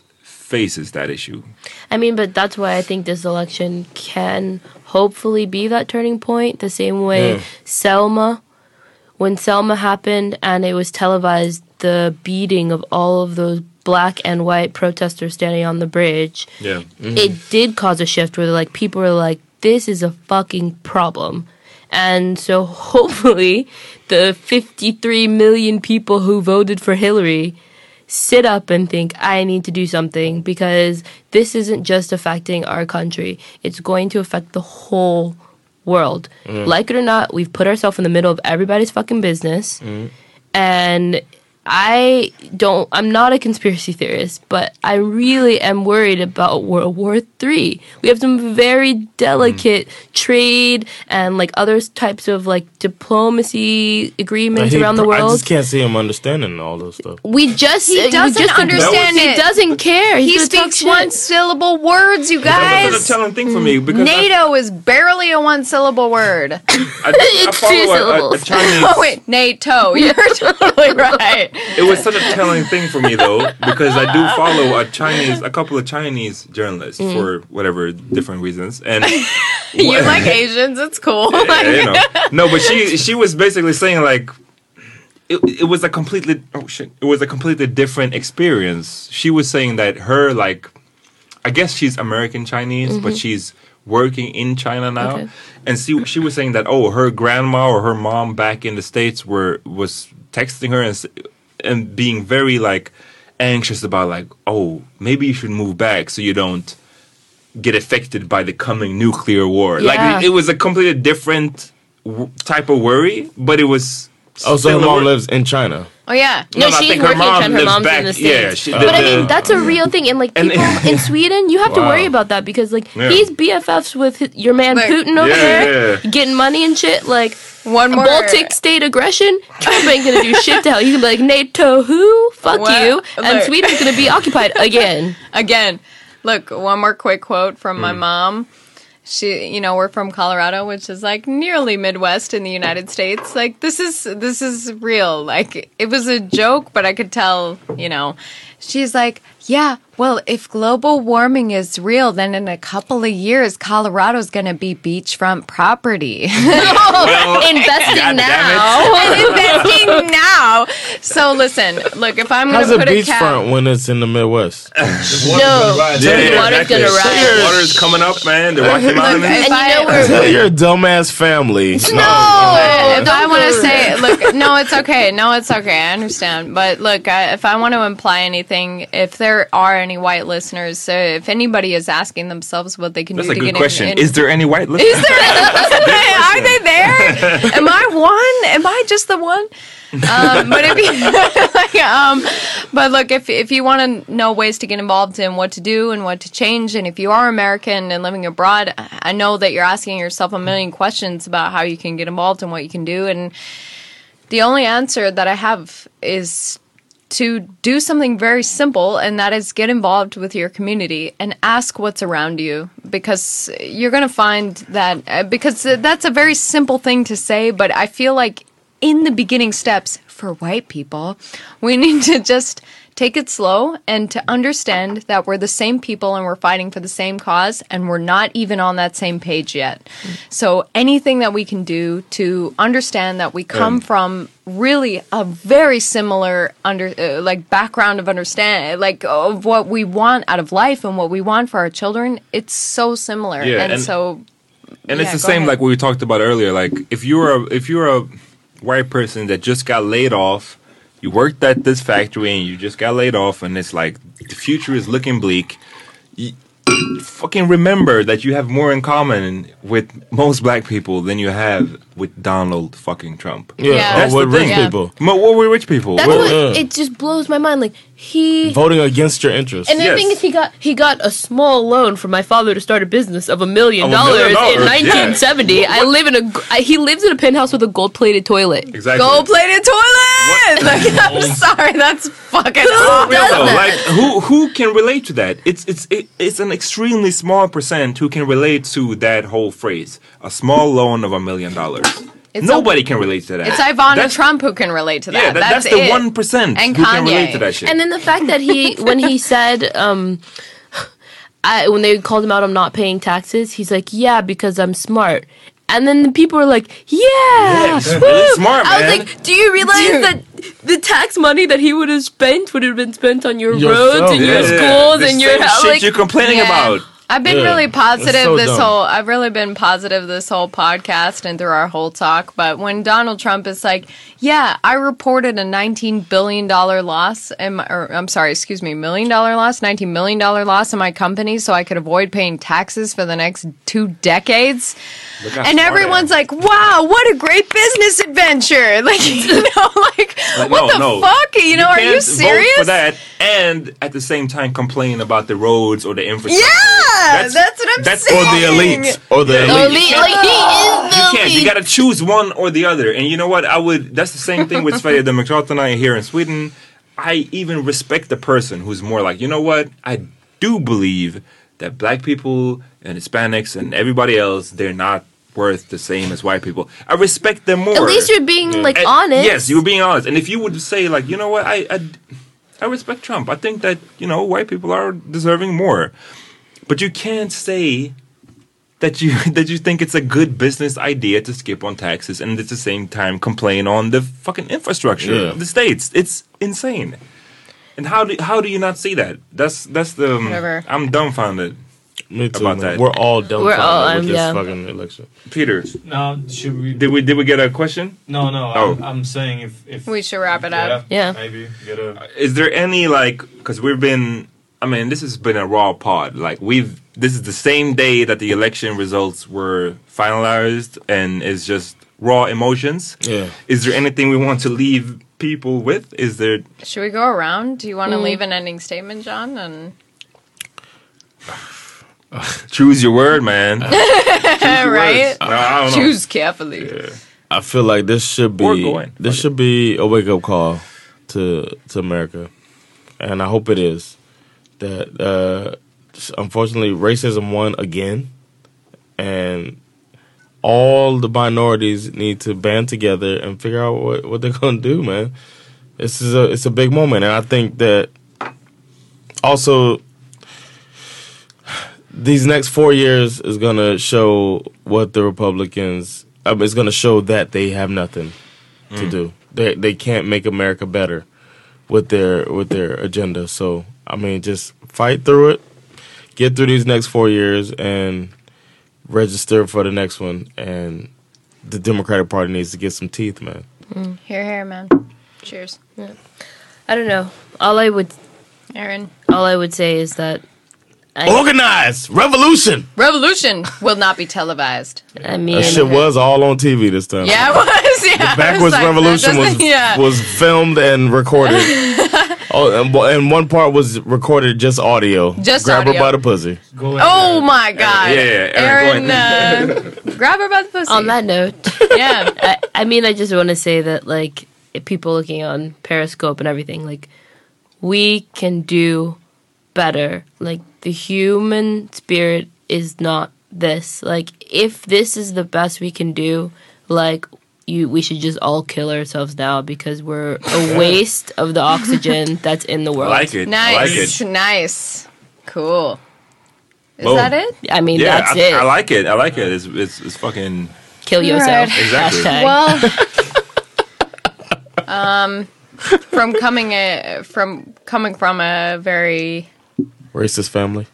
faces that issue. I mean, but that's why I think this election can hopefully be that turning point. The same way Yeah. Selma, when Selma happened and it was televised, the beating of all of those black and white protesters standing on the bridge, Yeah. Mhm. it did cause a shift where like people were like, this is a fucking problem. And so hopefully the fifty-three million people who voted for Hillary sit up and think, I need to do something, because this isn't just affecting our country. It's going to affect the whole world. Mm. Like it or not, we've put ourselves in the middle of everybody's fucking business. Mm. And I don't, I'm not a conspiracy theorist, but I really am worried about World War Three. We have some very delicate mm. trade and like other types of like diplomacy agreements He- around the world. I just can't see him understanding all those stuff. We just He we doesn't just understand He it. doesn't care. He's He gonna talk speaks shit. one syllable words, you That was guys. a telling thing for me because I- NATO is barely a one syllable word. I, I It's follow two a- a, a syllables. Chinese. Oh wait, NATO. You're totally right. It was such a telling thing for me though, because I do follow a Chinese, a couple of Chinese journalists Mm. for whatever different reasons, and You like Asians? It's cool. Yeah, you know. No, but she she was basically saying like it, it was a completely oh shit it was a completely different experience. She was saying that her like I guess she's American Chinese, but Mhm. she's working in China now, Okay. and she she was saying that oh her grandma or her mom back in the States were was texting her and s- and being very like anxious about like oh maybe you should move back so you don't get affected by the coming nuclear war. Yeah. Like it, it was a completely different w- type of worry, but it was. Oh, so still her a mom wor- lives in China. Oh yeah. No, no, I she's think her working in mom China. Her lives mom's back- in the yeah, States. she- but the- I mean, the- that's a real thing. And like And- people in Sweden, you have to Wow. worry about that because like Yeah. he's B F Fs with his, your man Putin over Yeah, there, yeah. getting money and shit. Like one more Baltic state aggression. Trump ain't gonna do shit to hell. He's gonna be like NATO, who? Fuck Well, you. And look. Sweden's gonna be occupied again. Again. Look, one more quick quote from my Mm. mom. She, you know, we're from Colorado, which is like nearly Midwest in the United States. Like this is this is real. Like it was a joke, but I could tell, you know. She's like, yeah, well, if global warming is real, then in a couple of years, Colorado's going to be beachfront property. Well, investing God damn now. it. investing now. So listen, look, if I'm going How's to it put a cap. beachfront when it's in the Midwest? No. Yeah, Water's exactly. gonna rise. Water's coming up, man. The Rocky Mountains. And you know where You're a dumbass family. No, if I want to say, look, no, it's okay. No, it's okay. I understand. But look, I, if I want to imply anything, if there are any white listeners, so if anybody is asking themselves what they can That's do a to good get question. in, Is there any white listeners? Is there? Are they there? Am I one? Am I just the one? um, but if you, like, um, but look, if if you want to know ways to get involved in what to do and what to change, and if you are American and living abroad, I know that you're asking yourself a million questions about how you can get involved and what you can do, and the only answer that I have is to do something very simple, and that is get involved with your community and ask what's around you, because you're going to find that, uh, because that's a very simple thing to say, but I feel like in the beginning steps for white people, we need to just take it slow and to understand that we're the same people and we're fighting for the same cause and we're not even on that same page yet. So anything that we can do to understand that we come Um. from really a very similar under uh, like background of understand like of what we want out of life and what we want for our children, it's so similar. Yeah, and, and- so And yeah, it's the go same ahead. like what we talked about earlier. Like if you're a if you're a white person that just got laid off, you worked at this factory and you just got laid off, and it's like the future is looking bleak. You, fucking remember that you have more in common with most black people than you have with Donald fucking Trump. Yeah, Yeah. That's or the with rich thing. people. Mo- what were rich people? That's What- what uh, it just blows my mind. Like he Voting against your interests. And the thing is, he got he got a small loan from my father to start a business of a million Of a million dollars in dollars, yeah. nineteen seventy. I live in a g- I, he lives in a penthouse with a gold plated toilet. Exactly. Gold plated toilet. Like, I'm sorry, that's fucking awful. Real though, like who who can relate to that? It's it's it, it's an extremely small percent who can relate to that whole phrase. A small loan of a million dollars. It's Nobody can relate to that. It's Ivana That's- Trump who can relate to that. Yeah, that, that's, that's the it. one percent And who can Kanye. relate to that shit. And then the fact that he, when he said, um, I, when they called him out on not paying taxes, he's like, yeah, because I'm smart. And then the people were like, yeah, Yeah, he's woo." really smart, I was man. like, do you realize Dude. that the tax money that he would have spent would have been spent on your Yourself. roads and your Yeah, schools the and your same house? shit Like, you're complaining Yeah. about. I've been Yeah, really positive it's so this dumb. whole I've really been positive this whole podcast and through our whole talk, but when Donald Trump is like, yeah, I reported a nineteen billion dollars loss in my, or I'm sorry, excuse me, million dollar loss, nineteen million dollars loss in my company so I could avoid paying taxes for the next two decades. Look how And smart I everyone's am. like, wow, what a great business adventure. Like, you know, like, Like, what no, the no. fuck? You know, are you can't serious? Vote for that and at the same time complain about the roads or the infrastructure. Yeah, that's, what I'm that's Or saying. the elites. Or the the elites. elite, like, he is the You can't. You elite. gotta choose one or the other. And you know what? I would. That's the same thing with Sverigedemokraterna here in Sweden. I even respect the person who's more like, you know what? I do believe that black people and Hispanics and everybody else, they're not worth the same as white people. I respect them more. At least you're being, like, And- honest. Yes, you were being honest. And if you would say like, you know what? I, I I respect Trump. I think that, you know, white people are deserving more. But you can't say that you that you think it's a good business idea to skip on taxes and at the same time complain on the fucking infrastructure Yeah. of the states. It's insane. And how do how do you not see that? That's that's the um, Whatever. I'm dumbfounded. Me too, About man. that. We're all dumbfounded all, um, with this yeah. fucking election. Peter, No, should we? did we did we get a question? No, no. Oh. I'm, I'm saying if if We should wrap it up. Yeah. maybe get a. Is there any like because we've been I mean this has been a raw pod like we've this is the same day that the election results were finalized and it's just raw emotions. Yeah. Is there anything we want to leave people with? Is there Should we go around? Do you want to Mm. leave an ending statement, John? And choose your word, man? right? No, I don't know. Choose carefully. I feel like this should Or be going. this Fuck should be a wake up call to to America, and I hope it is. That uh, unfortunately racism won again, and all the minorities need to band together and figure out what, what they're gonna do, man. This is a it's a big moment, and I think that also these next four years is gonna show what the Republicans. I mean, it's gonna show that they have nothing to do. They they can't make America better with their with their agenda. So I mean, just fight through it, get through these next four years, and register for the next one. And the Democratic Party needs to get some teeth, man. Mm. Here, here, man. Cheers. Yeah. I don't know. All I would, Aaron. all I would say is that I, Organize revolution. Revolution will not be televised. I mean, That shit was all on T V this time. Yeah, it was. Yeah, The I was Backwards like, that Revolution was doesn't- yeah. was filmed and recorded. Oh, and, and one part was recorded just audio. Just Grab audio. her by the pussy. Oh my God. Yeah, Aaron, Aaron, uh, grab her by the pussy. on that note, yeah. I, I mean, I just want to say that, like, if people looking on Periscope and everything, like, we can do better. Like, the human spirit is not this. Like, if this is the best we can do, like, you, we should just all kill ourselves now because we're a waste of the oxygen that's in the I world. like it. I like Nice. it. Nice. Cool. Is Boom. that it? I mean, Yeah, that's I, it. I like it. I like it. It's it's, it's fucking. Kill yourself. Alright. Exactly. Hashtag. Well, um, from coming a, from coming from a very Racist family.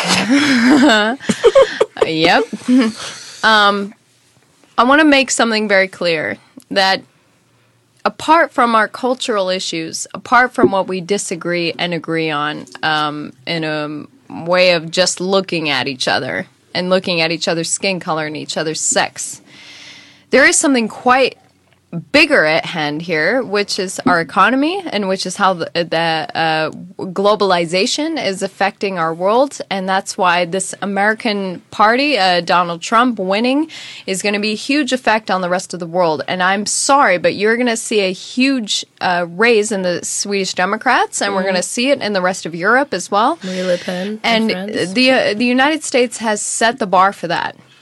yep. um, I want to make something very clear that apart from our cultural issues, apart from what we disagree and agree on, um, in a way of just looking at each other and looking at each other's skin color and each other's sex, there is something quite bigger at hand here, which is our economy and which is how the, the uh, globalization is affecting our world. And that's why this American party, uh, Donald Trump winning, is going to be a huge effect on the rest of the world. And I'm sorry, but you're going to see a huge uh, raise in the Swedish Democrats, and we're going to see it in the rest of Europe as well. Marie Le Pen And France. the uh, the United States has set the bar for that.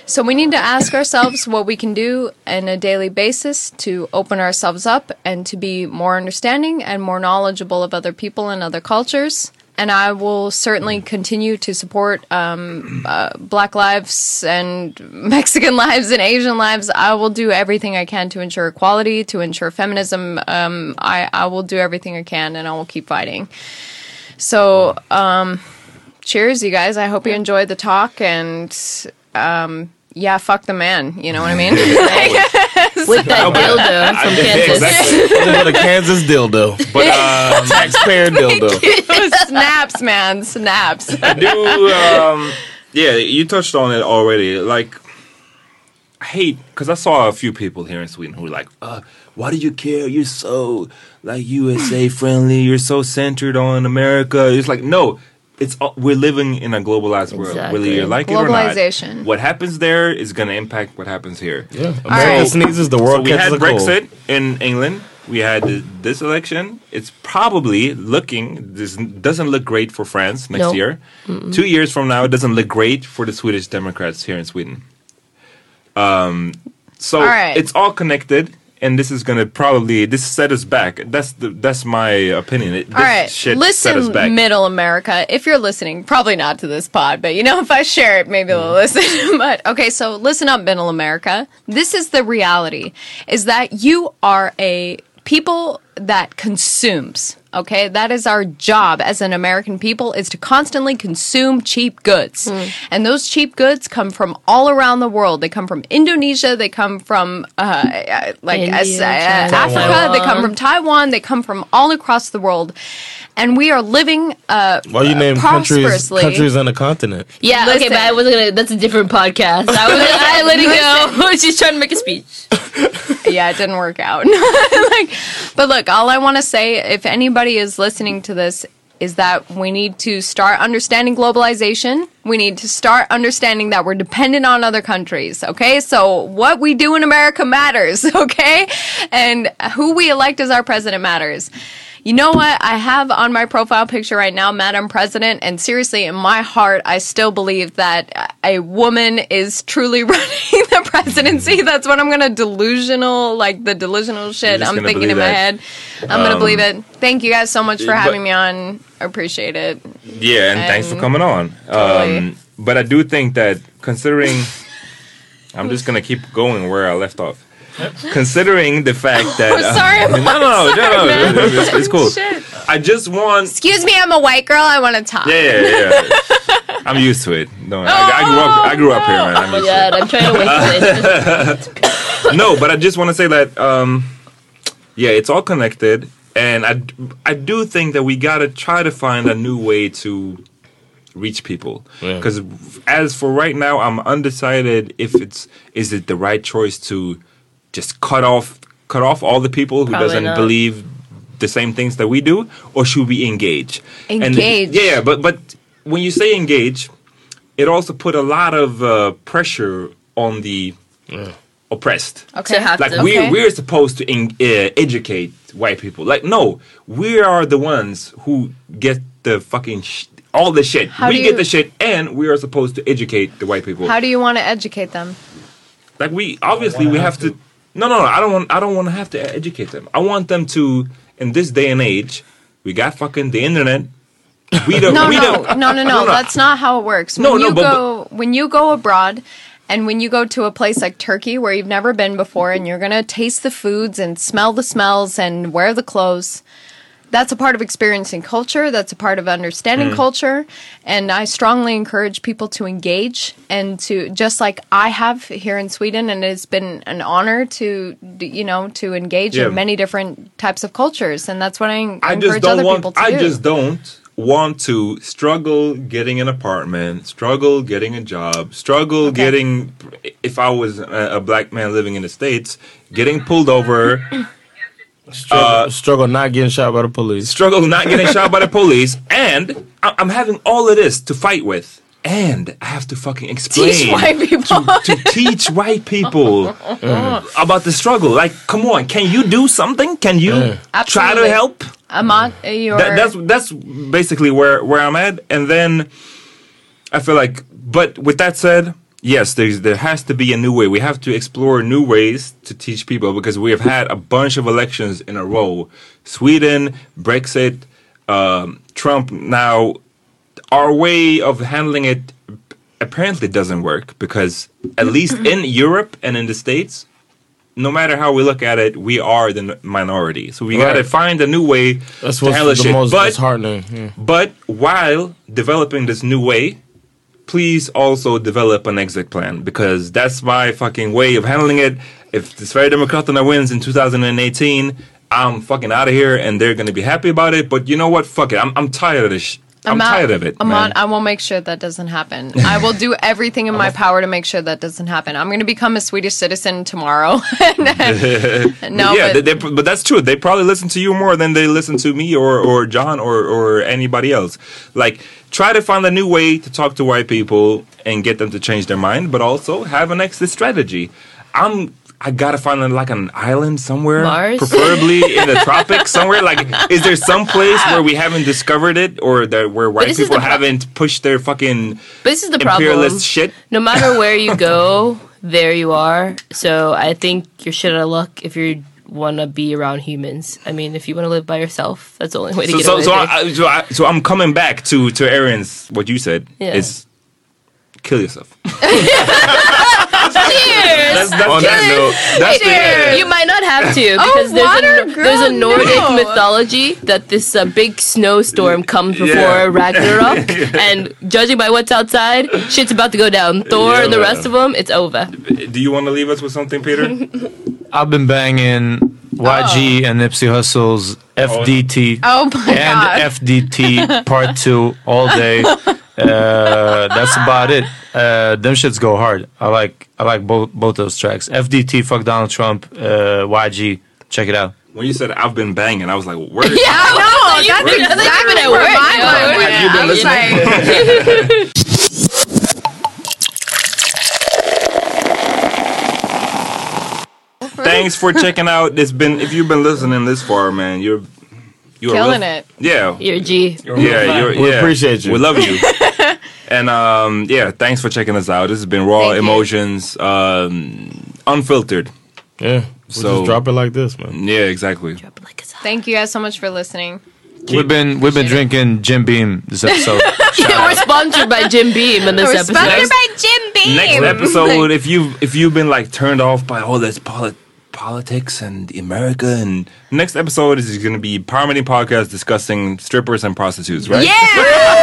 So we need to ask ourselves what we can do on a daily basis to open ourselves up and to be more understanding and more knowledgeable of other people and other cultures. And I will certainly continue to support um, uh, Black lives and Mexican lives and Asian lives. I will do everything I can to ensure equality, to ensure feminism. Um, I, I will do everything I can, and I will keep fighting. So, um, cheers, you guys. I hope you enjoyed the talk, and um, yeah, fuck the man. You know what I mean? With that dildo from Kansas. Exactly. With a Kansas dildo. But uh, taxpayer dildo. Snaps, man. Snaps. I do, um, yeah, you touched on it already. Like, I hate, because I saw a few people here in Sweden who were like, uh, why do you care? You're so, like, U S A friendly. You're so centered on America. It's like, no. It's uh, we're living in a globalized world, Exactly. whether you like it or not. Globalization. What happens there is going to impact what happens here. Yeah, America right. sneezes, the world so we catches had a cold. Brexit in England. We had th- this election. It's probably looking. This doesn't look great for France next Nope. year. Mm-mm. Two years from now, it doesn't look great for the Swedish Democrats here in Sweden. Um, so All right. it's all connected. And this is gonna probably this set us back. That's the that's my opinion. It, this All right, shit set us listen, back. Middle America. If you're listening, probably not to this pod, but you know, if I share it, maybe they'll listen. But okay, so listen up, Middle America. This is the reality: is that you are a people that consumes. Okay, that is our job as an American people, is to constantly consume cheap goods. And those cheap goods come from all around the world. They come from Indonesia. They come from uh, like India, as, uh, China. Africa. Taiwan. They come from Taiwan. They come from all across the world. And we are living uh, Why you name countries prosperously. countries on a continent? Yeah, okay, Listen. but I wasn't gonna. That's a different podcast. I was. I let it go. She's trying to make a speech. Yeah, it didn't work out. like, but look, all I want to say, if anybody is listening to this, is that we need to start understanding globalization. We need to start understanding that we're dependent on other countries, okay? So what we do in America matters, okay? And who we elect as our president matters. You know what? I have on my profile picture right now, Madam President, and seriously, in my heart, I still believe that a woman is truly running the presidency. That's what I'm going to delusional, like the delusional shit just I'm gonna thinking in believe my that. head. I'm going to Um, believe it. Thank you guys so much for but- having me on. I appreciate it. Yeah, and, thanks for And- coming on. Totally. Um, but I do think that considering, I'm just gonna keep going where I left off. Considering the fact that I'm sorry, I'm no, no, no, sorry, no, no, man. it's, it's cool. Shit. I just want, Excuse me, I'm a white girl. I want to talk. yeah, yeah, yeah. I'm used to it. No, I, I grew up, I grew up here, man. I'm Oh my used god, I'm trying to wait for this. to it. No, but I just want to say that, um, yeah, it's all connected, and I, I do think that we gotta try to find a new way to reach people. Because as for right now, I'm undecided if it's is it the right choice to just cut off cut off all the people who Probably doesn't not. believe the same things that we do, or should we engage? Engage. And, yeah, but but when you say engage, it also put a lot of uh, pressure on the oppressed. Okay. Like Okay. we we're supposed to in, uh, educate white people. Like no, we are the ones who get the fucking sh- all the shit. How we do get you- the shit, and we are supposed to educate the white people. How do you want to educate them? Like we obviously we have to. No, no, no. I don't want. I don't want to have to educate them. I want them to. In this day and age, we got fucking the internet. We don't. No, we no, don't, no, no, no. That's not how it works. When No, you no, but- go when you go abroad, and when you go to a place like Turkey where you've never been before, and you're gonna taste the foods and smell the smells and wear the clothes. That's a part of experiencing culture. That's a part of understanding Mm. culture. And I strongly encourage people to engage and to, just like I have here in Sweden, and it's been an honor to, you know, to engage Yeah. in many different types of cultures. And that's what I, en- I encourage just don't other want. people to I do. just don't want to struggle getting an apartment, struggle getting a job, struggle getting. If I was a, a black man living in the States, getting pulled over. Struggle, struggle not getting shot by the police. Struggle not getting shot by the police, and I- I'm having all of this to fight with, and I have to fucking explain Teach white people. to, to teach white people uh, about the struggle. Like, come on, can you do something? Can you try Absolutely. to help? Among your That, that's that's basically where where I'm at, and then I feel like. But with that said, yes, there's, there has to be a new way. We have to explore new ways to teach people because we have had a bunch of elections in a row. Sweden, Brexit, um, Trump. Now, our way of handling it apparently doesn't work because at least in Europe and in the States, no matter how we look at it, we are the minority. So we Right. got to find a new way That's to what's handle the shit. most But, disheartening. Yeah. but while developing this new way, please also develop an exit plan because that's my fucking way of handling it. If the Sverigedemokraterna wins in two thousand eighteen, I'm fucking out of here and they're going to be happy about it. But you know what? Fuck it. I'm, I'm tired of this sh- I'm, out- tired of it, I'm man. on, I will make sure that doesn't happen. I will do everything in my power to make sure that doesn't happen. I'm going to become a Swedish citizen tomorrow. no, yeah, but, they, they, but that's true. They probably listen to you more than they listen to me or, or John or, or anybody else. Like, try to find a new way to talk to white people and get them to change their mind, but also have an exit strategy. I'm... I gotta find like an island somewhere, Mars? preferably in the tropics somewhere. Like, is there some place where we haven't discovered it, or that where white this is people the pro- haven't pushed their fucking But this is the imperialist problem. shit? No matter where you go, there you are. So I think you're shit out of luck if you want to be around humans. I mean, if you want to live by yourself, that's the only way to So, get so, away. so, with it. I, so, I, so I'm coming back to to Aaron's what you said Yeah. is kill yourself. Cheers! That's, that's On that Cheers. note, That's the end. You might not have to Oh, because there's water, a girl, there's a Nordic no. mythology that this uh, big snowstorm comes before Yeah. Ragnarok, and judging by what's outside, shit's about to go down. Thor Yeah, and the man. rest of them, it's over. Do you want to leave us with something, Peter? I've been banging Y G and Nipsey Hussle's F D T oh my and god. F D T Part Two all day. Uh, that's about it. Uh, them shits go hard. I like I like both both those tracks. F D T, fuck Donald Trump. Uh, Y G, check it out. When you said I've been banging, I was like, where? Yeah, no, that's Where- exactly Where- where Where- my mind Where- went. Have you been I was listening? like, Thanks for checking out. It's been if you've been listening this far, man, you're you're killing real- it. Yeah, You're a G. yeah, you're, We yeah. appreciate you. We love you. And um, yeah, thanks for checking us out. This has been Raw Thank you. Emotions, um, unfiltered. Yeah. We So- just drop it like this, man. Yeah, exactly. Thank you guys so much for listening. We've been we've been drinking Jim Beam this episode. Yeah, we're sponsored by Jim Beam in this We're episode. sponsored by Jim Beam. Next episode, if you if you've been like turned off by all this poli- politics and America, and next episode is going to be Parmity Podcast discussing strippers and prostitutes, right? Yeah!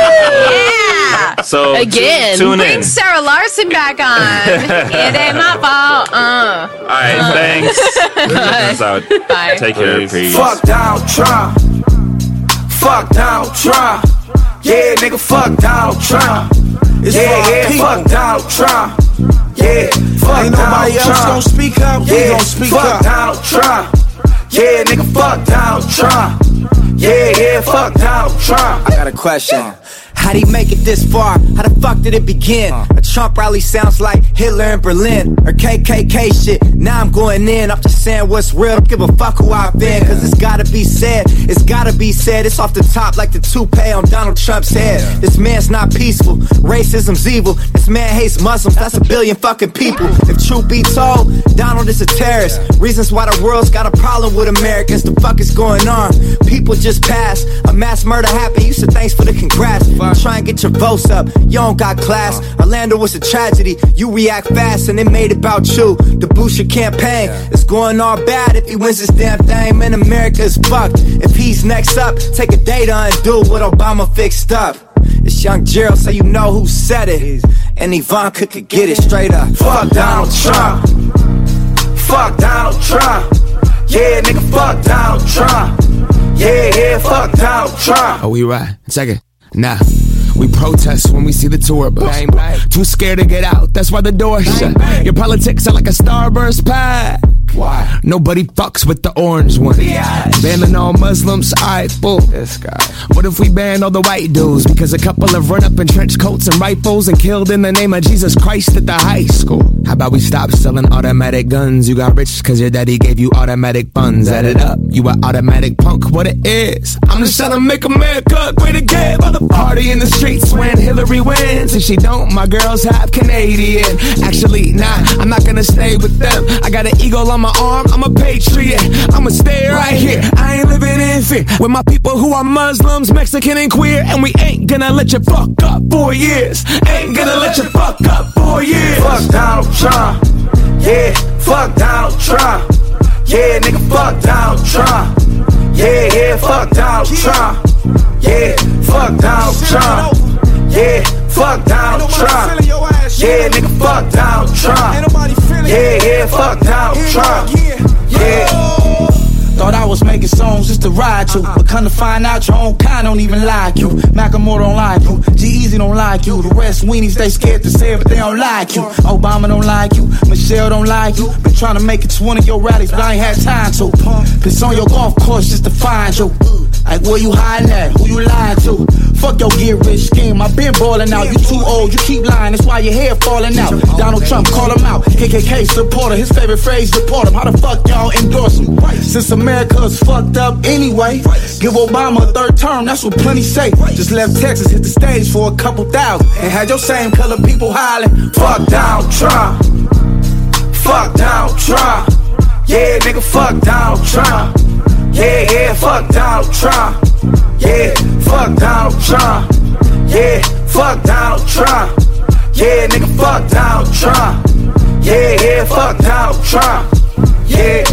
yeah! So Again. tu- tune in. Bring Sarah Larson back on. It ain't my fault. Uh. All right, thanks. Check us out. Bye. Take care. Peace. Fuck Donald Trump. Fuck Donald Trump. Yeah, nigga, fuck Donald Trump. It's yeah, yeah, people. Fuck Donald Trump. Yeah, fuck Ain't nobody Donald else Trump. Gonna speak up. Yeah, gonna speak fuck up. Donald Trump. Yeah, nigga, fuck Donald Trump. Yeah, yeah, fuck Donald Trump. I got a question. How'd he make it this far? How the fuck did it begin? A Trump rally sounds like Hitler in Berlin or K K K shit. Now I'm going in, I'm just saying what's real. Don't give a fuck who I've been, cause it's gotta be said. It's gotta be said. It's off the top like the toupee on Donald Trump's head. This man's not peaceful. Racism's evil. This man hates Muslims. That's a billion fucking people. If truth be told, Donald is a terrorist. Reasons why the world's got a problem with Americans. The fuck is going on? People just passed. A mass murder happened. You said thanks for the congrats. Try and get your votes up. You don't got class. Orlando was a tragedy. You react fast and it made it about you. The Bush campaign is going all bad if he wins this damn thing. Man, America is fucked. If he's next up, take a day to undo what Obama fixed up. It's Young Gerald, so you know who said it. And Ivanka could get it straight up. Fuck Donald Trump. Fuck Donald Trump. Yeah, nigga, fuck Donald Trump. Yeah, yeah, fuck Donald Trump. Oh, we right. Check it. Nah. We protest when we see the tour bus. Bang, bang. Too scared to get out, that's why the door shut. Your politics are like a Starburst pack. Why? Nobody fucks with the orange one. Banning all Muslims, alright, fool. This guy. What if we ban all the white dudes? Because a couple have run up in trench coats and rifles and killed in the name of Jesus Christ at the high school. How about we stop selling automatic guns? You got rich cause your daddy gave you automatic funds. Add it up, you an automatic punk, what it is. I'm just trying to make America great again. By the party in the streets when Hillary wins. If she don't, my girls half Canadian. Actually, nah, I'm not gonna stay with them. I got an eagle on my arm, I'm a patriot. I'ma stay right here, I ain't living in fear. With my people who are Muslims, Mexican and queer. And we ain't gonna let you fuck up for years. Ain't gonna let you fuck up for years. Fuck Donald Trump, yeah, fuck Donald Trump. Yeah, nigga, fuck Donald Trump. Yeah, yeah, fuck Donald Trump. Yeah, fuck Donald Trump. Yeah, fuck Donald Trump. Yeah, nigga, fuck Donald Trump. Yeah, yeah, fuck Donald Trump. Yeah. Thought I was making songs just to ride to, but come to find out your own kind don't even like you. Macklemore don't like you, G-Eazy don't like you. The rest weenies, they scared to say it, but they don't like you. Obama don't like you, Michelle don't like you. Been trying to make it to one of your rallies, but I ain't had time to. Been on your golf course just to find you. Like where you hiding at, who you lying to? Fuck your get rich scheme, I been ballin' out. You too old, you keep lying, that's why your hair falling out. Donald Trump, call him out. K K K supporter, his favorite phrase, deport him. How the fuck y'all endorse him? Since America's fucked up anyway, give Obama a third term, that's what plenty say. Just left Texas, hit the stage for a couple thousand, and had your same color people hollering, fuck Donald Trump. Fuck Donald Trump. Yeah, nigga, fuck Donald Trump. Yeah, yeah, fuck Donald Trump. Yeah, fuck Donald Trump. Yeah, fuck Donald Trump. Yeah, nigga, fuck Donald Trump. Yeah, yeah, fuck Donald Trump. Yeah.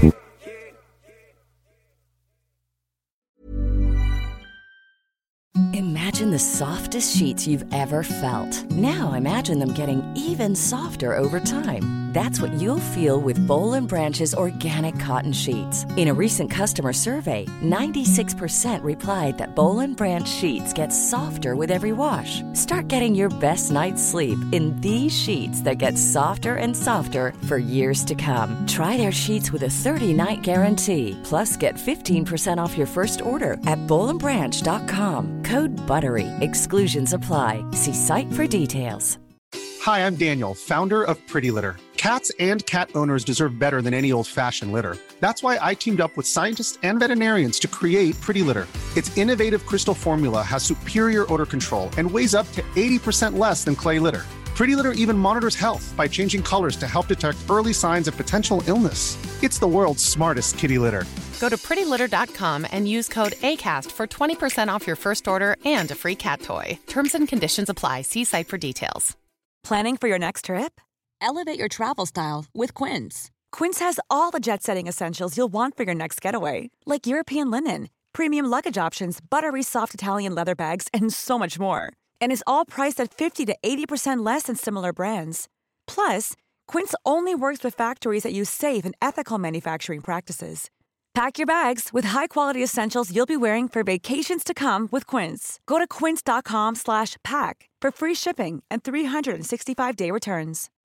Imagine the softest sheets you've ever felt. Now imagine them getting even softer over time. That's what you'll feel with Boll and Branch's organic cotton sheets. In a recent customer survey, ninety-six percent replied that Boll and Branch sheets get softer with every wash. Start getting your best night's sleep in these sheets that get softer and softer for years to come. Try their sheets with a thirty-night guarantee. Plus, get fifteen percent off your first order at boll and branch dot com. Code BUTTERY. Exclusions apply. See site for details. Hi, I'm Daniel, founder of Pretty Litter. Cats and cat owners deserve better than any old-fashioned litter. That's why I teamed up with scientists and veterinarians to create Pretty Litter. Its innovative crystal formula has superior odor control and weighs up to eighty percent less than clay litter. Pretty Litter even monitors health by changing colors to help detect early signs of potential illness. It's the world's smartest kitty litter. Go to pretty litter dot com and use code ACAST for twenty percent off your first order and a free cat toy. Terms and conditions apply. See site for details. Planning for your next trip? Elevate your travel style with Quince. Quince has all the jet-setting essentials you'll want for your next getaway, like European linen, premium luggage options, buttery soft Italian leather bags, and so much more. And is all priced at fifty to eighty percent less than similar brands. Plus, Quince only works with factories that use safe and ethical manufacturing practices. Pack your bags with high-quality essentials you'll be wearing for vacations to come with Quince. Go to quince dot com slash pack for free shipping and three sixty-five day returns.